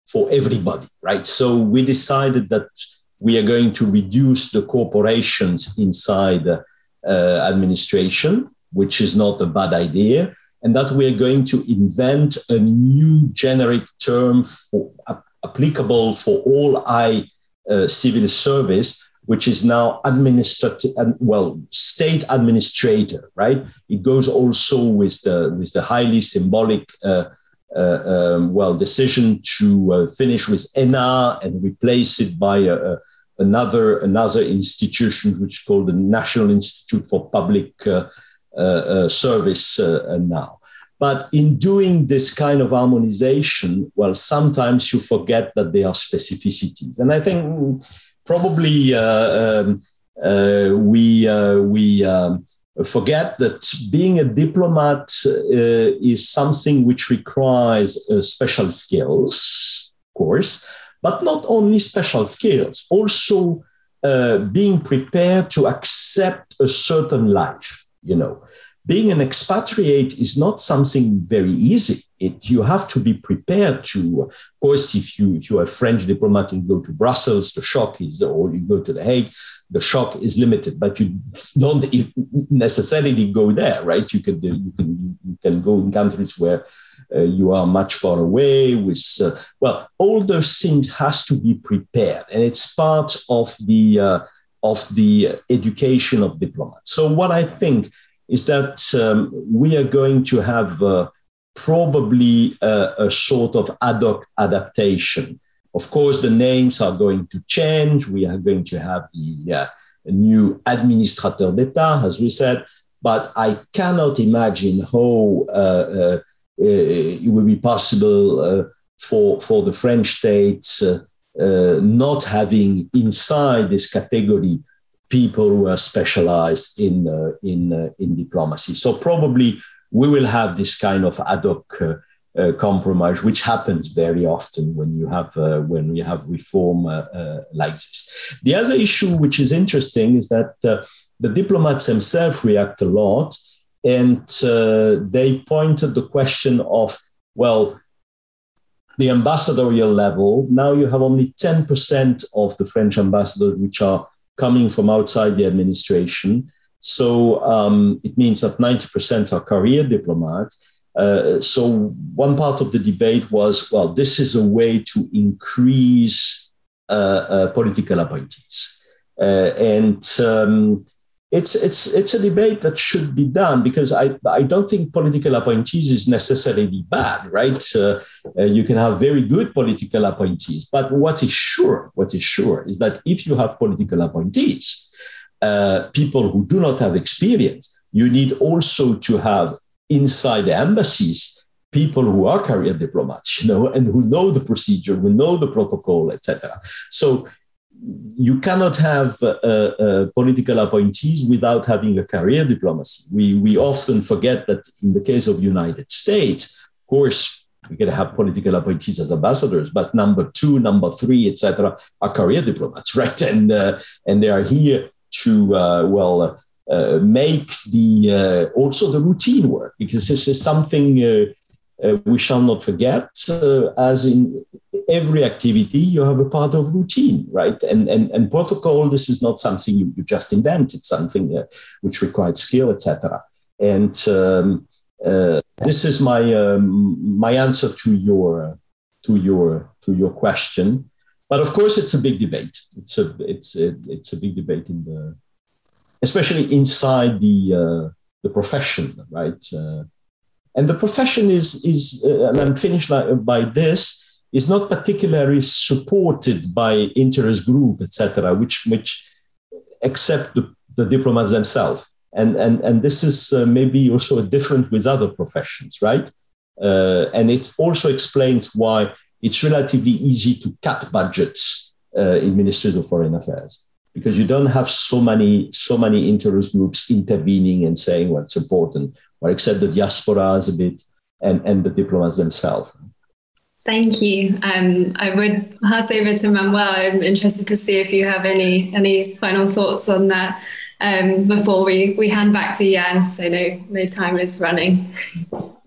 Speaker 2: for everybody, right? So we decided that we are going to reduce the corporations inside uh, administration, which is not a bad idea, and that we are going to invent a new generic term for, uh, applicable for all high uh, civil service, which is now administrative, well, state administrator, right? It goes also with the with the highly symbolic, uh, uh, um, well, decision to uh, finish with E N A and replace it by a, a, another another institution, which is called the National Institute for Public uh, uh, uh, Service uh, now. But in doing this kind of harmonization, well, sometimes you forget that there are specificities, and I think probably uh, um, uh, we uh, we um, forget that being a diplomat uh, is something which requires uh, special skills, of course, but not only special skills, also uh, being prepared to accept a certain life, you know. Being an expatriate is not something very easy. It, you have to be prepared to, of course, if you if you are a French diplomat and go to Brussels, the shock is, or you go to The Hague, the shock is limited. But you don't necessarily go there, right? You can you can you can go in countries where uh, you are much far away. With uh, well, all those things has to be prepared, and it's part of the uh, of the education of diplomats. So what I think is that um, we are going to have uh, probably a, a sort of ad hoc adaptation. Of course, the names are going to change. We are going to have the uh, new administrateur d'État, as we said, but I cannot imagine how uh, uh, it will be possible uh, for, for the French state uh, uh, not having inside this category people who are specialized in uh, in uh, in diplomacy. So probably we will have this kind of ad hoc uh, uh, compromise, which happens very often when you have uh, when you have reform uh, uh, like this. The other issue, which is interesting, is that uh, the diplomats themselves react a lot, and uh, they pointed the question of, well, the ambassadorial level. Now you have only ten percent of the French ambassadors which are coming from outside the administration. So um, it means that ninety percent are career diplomats. Uh, so one part of the debate was, well, this is a way to increase uh, uh, political appointees. Uh, and um, it's, it's, it's a debate that should be done, because I, I don't think political appointees is necessarily bad, right? Uh, uh, you can have very good political appointees, but what is sure, what is sure is that if you have political appointees, uh, people who do not have experience, you need also to have inside the embassies people who are career diplomats, you know, and who know the procedure, who know the protocol, et cetera. So you cannot have uh, uh, political appointees without having a career diplomacy. We, we often forget that in the case of the United States, of course, we can have political appointees as ambassadors, but number two, number three, et cetera, are career diplomats, right? And uh, and they are here to uh, well uh, make the uh, also the routine work, because this is something uh, uh, we shall not forget. Uh, as in every activity, you have a part of routine, right? And and and protocol. This is not something you, you just invent. It's something uh, which requires skill, et cetera. And um, uh, this is my um, my answer to your to your to your question. But of course, it's a big debate. It's a it's a, it's a big debate in the, especially inside the uh, the profession, right? Uh, and the profession is is uh, and I'm finished by this. Is not particularly supported by interest group, et cetera, which which accept the, the diplomats themselves. And, and, and this is uh, maybe also different with other professions, right? Uh, and it also explains why it's relatively easy to cut budgets uh, in ministries of foreign affairs, because you don't have so many so many interest groups intervening and saying what's important, or except the diasporas a bit and, and the diplomats themselves.
Speaker 9: Thank you. Um, I would pass over to Manuel. I'm interested to see if you have any any final thoughts on that um, before we, we hand back to Jan, so no, no time is running.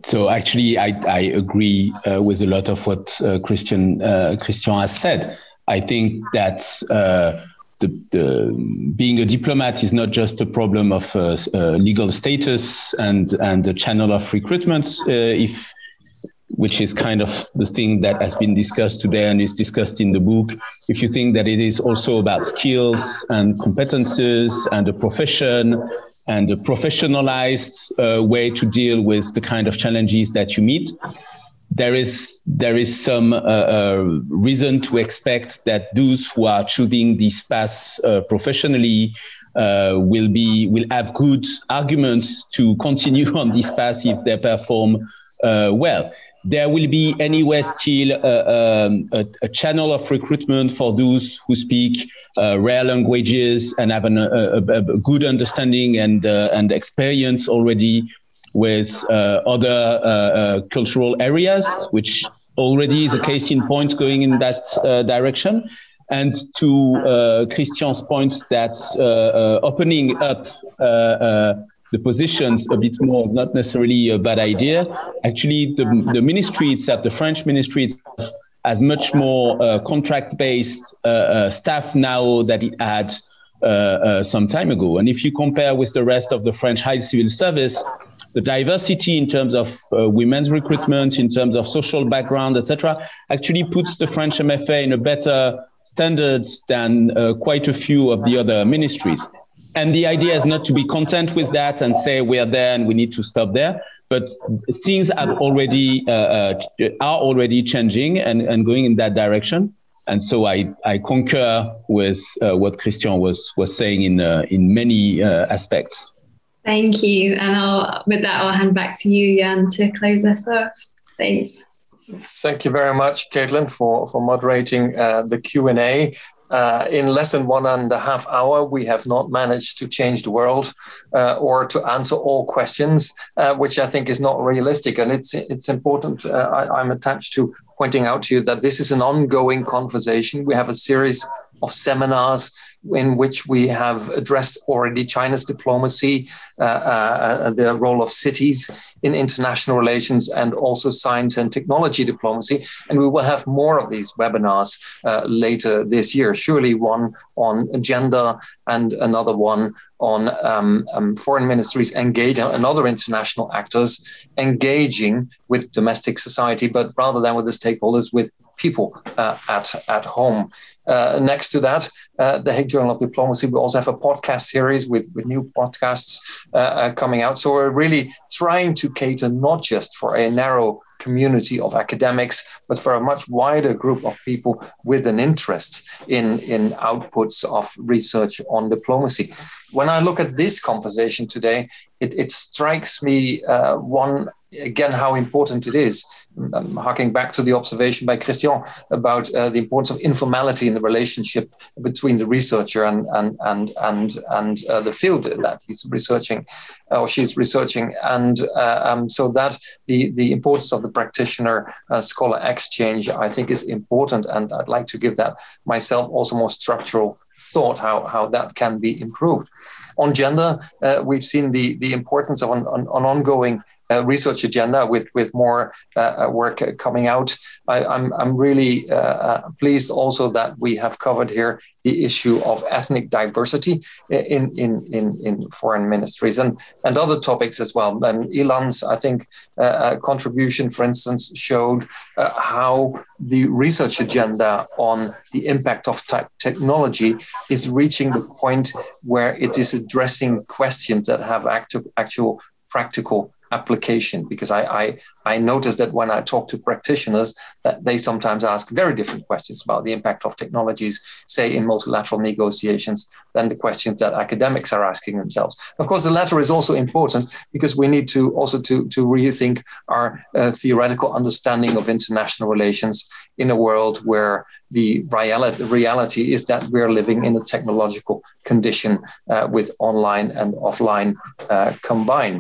Speaker 3: so actually, I, I agree uh, with a lot of what uh, Christian uh, Christian has said. I think that uh, the, the being a diplomat is not just a problem of uh, uh, legal status and and the channel of recruitment, uh, if which is kind of the thing that has been discussed today and is discussed in the book. If you think that it is also about skills and competences and a profession and a professionalized uh, way to deal with the kind of challenges that you meet, there is there is some uh, uh, reason to expect that those who are choosing this path uh, professionally uh, will be will have good arguments to continue on this path if they perform uh, well. There will be anyway still uh, um, a, a channel of recruitment for those who speak uh, rare languages and have an, a, a, a good understanding and uh, and experience already with uh, other uh, uh, cultural areas, which already is a case in point going in that uh, direction. And to uh, Christian's point that uh, uh, opening up uh, uh, the positions a bit more, not necessarily a bad idea. Actually, the, the ministry itself, the French ministry itself, has much more uh, contract-based uh, uh, staff now that it had uh, uh, some time ago. And if you compare with the rest of the French high civil service, the diversity in terms of uh, women's recruitment, in terms of social background, et cetera, actually puts the French M F A in a better standards than uh, quite a few of the other ministries. And the idea is not to be content with that and say we are there and we need to stop there, but things have already uh, uh, are already changing and, and going in that direction. And so I, I concur with uh, what Christian was was saying in uh, in many uh, aspects.
Speaker 9: Thank you. And I'll, with that, I'll hand back to you, Jan, to close us off. Thanks.
Speaker 1: Thank you very much, Caitlin, for, for moderating uh, the Q and A. Uh, in less than one and a half hour, we have not managed to change the world uh, or to answer all questions, uh, which I think is not realistic. And it's it's important. Uh, I, I'm attached to pointing out to you that this is an ongoing conversation. We have a series of seminars in which we have addressed already China's diplomacy, uh, uh, the role of cities in international relations, and also science and technology diplomacy. And we will have more of these webinars uh, later this year, surely one on gender and another one on um, um, foreign ministries engaging and other international actors engaging with domestic society, but rather than with the stakeholders, with people uh, at, at home. Uh, next to that, uh, the Hague Journal of Diplomacy, we also have a podcast series with, with new podcasts uh, uh, coming out. So we're really trying to cater not just for a narrow community of academics, but for a much wider group of people with an interest in, in outputs of research on diplomacy. When I look at this conversation today, it, it strikes me, uh, one, again, how important it is. I'm harking back to the observation by Christian about uh, the importance of informality in the relationship between the researcher and and and and and uh, the field that he's researching uh, or she's researching, and uh, um, so that the the importance of the practitioner uh, scholar exchange, I think, is important, and I'd like to give that myself also more structural thought how how that can be improved. On gender, uh, we've seen the the importance of an, an, an ongoing Uh, research agenda with with more uh, work coming out. I, I'm I'm really uh, uh, pleased also that we have covered here the issue of ethnic diversity in in in, in foreign ministries and and other topics as well. And Ilan's, I think, uh, contribution, for instance, showed uh, how the research agenda on the impact of te- technology is reaching the point where it is addressing questions that have active, actual practical application, because I, I I noticed that when I talk to practitioners that they sometimes ask very different questions about the impact of technologies, say in multilateral negotiations, than the questions that academics are asking themselves. Of course, the latter is also important because we need to also to, to rethink our uh, theoretical understanding of international relations in a world where the reality, reality is that we're living in a technological condition uh, with online and offline uh, combined.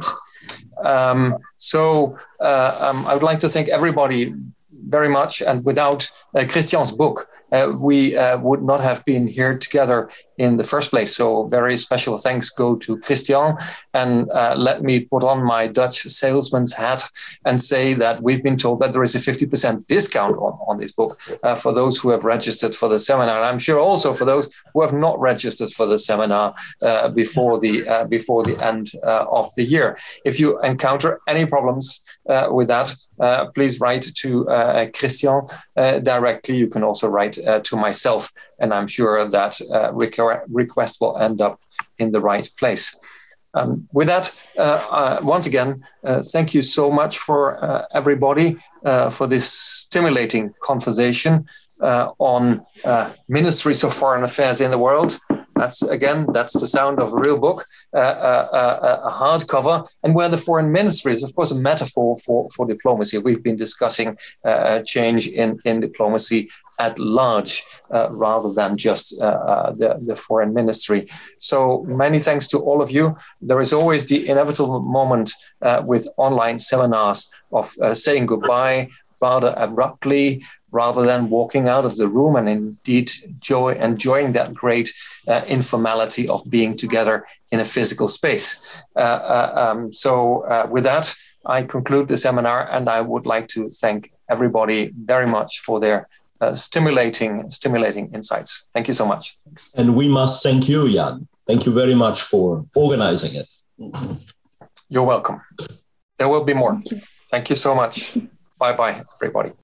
Speaker 1: Um, so uh, um, I would like to thank everybody very much. And without uh, Christian's book, uh, we uh, would not have been here together in the first place. So very special thanks go to Christian. And uh, let me put on my Dutch salesman's hat and say that we've been told that there is a fifty percent discount on, on this book uh, for those who have registered for the seminar. And I'm sure also for those who have not registered for the seminar uh, before the uh, before the end uh, of the year. If you encounter any problems uh, with that, uh, please write to uh, Christian uh, directly. You can also write uh, to myself, and I'm sure that uh, request will end up in the right place. Um, with that, uh, uh, once again, uh, thank you so much for uh, everybody uh, for this stimulating conversation uh, on uh, ministries of foreign affairs in the world. That's, again, that's the sound of a real book, uh, uh, uh, a hardcover, and where the foreign ministry is, of course, a metaphor for, for diplomacy. We've been discussing uh, change in, in diplomacy at large, uh, rather than just uh, uh, the, the foreign ministry. So many thanks to all of you. There is always the inevitable moment uh, with online seminars of uh, saying goodbye rather abruptly, rather than walking out of the room and indeed joy, enjoying that great uh, informality of being together in a physical space. Uh, uh, um, so uh, with that, I conclude the seminar, and I would like to thank everybody very much for their uh, stimulating, stimulating insights. Thank you so much. Thanks.
Speaker 2: And we must thank you, Jan. Thank you very much for organizing it.
Speaker 1: You're welcome. There will be more. Thank you, Thank you so much. Bye-bye, everybody.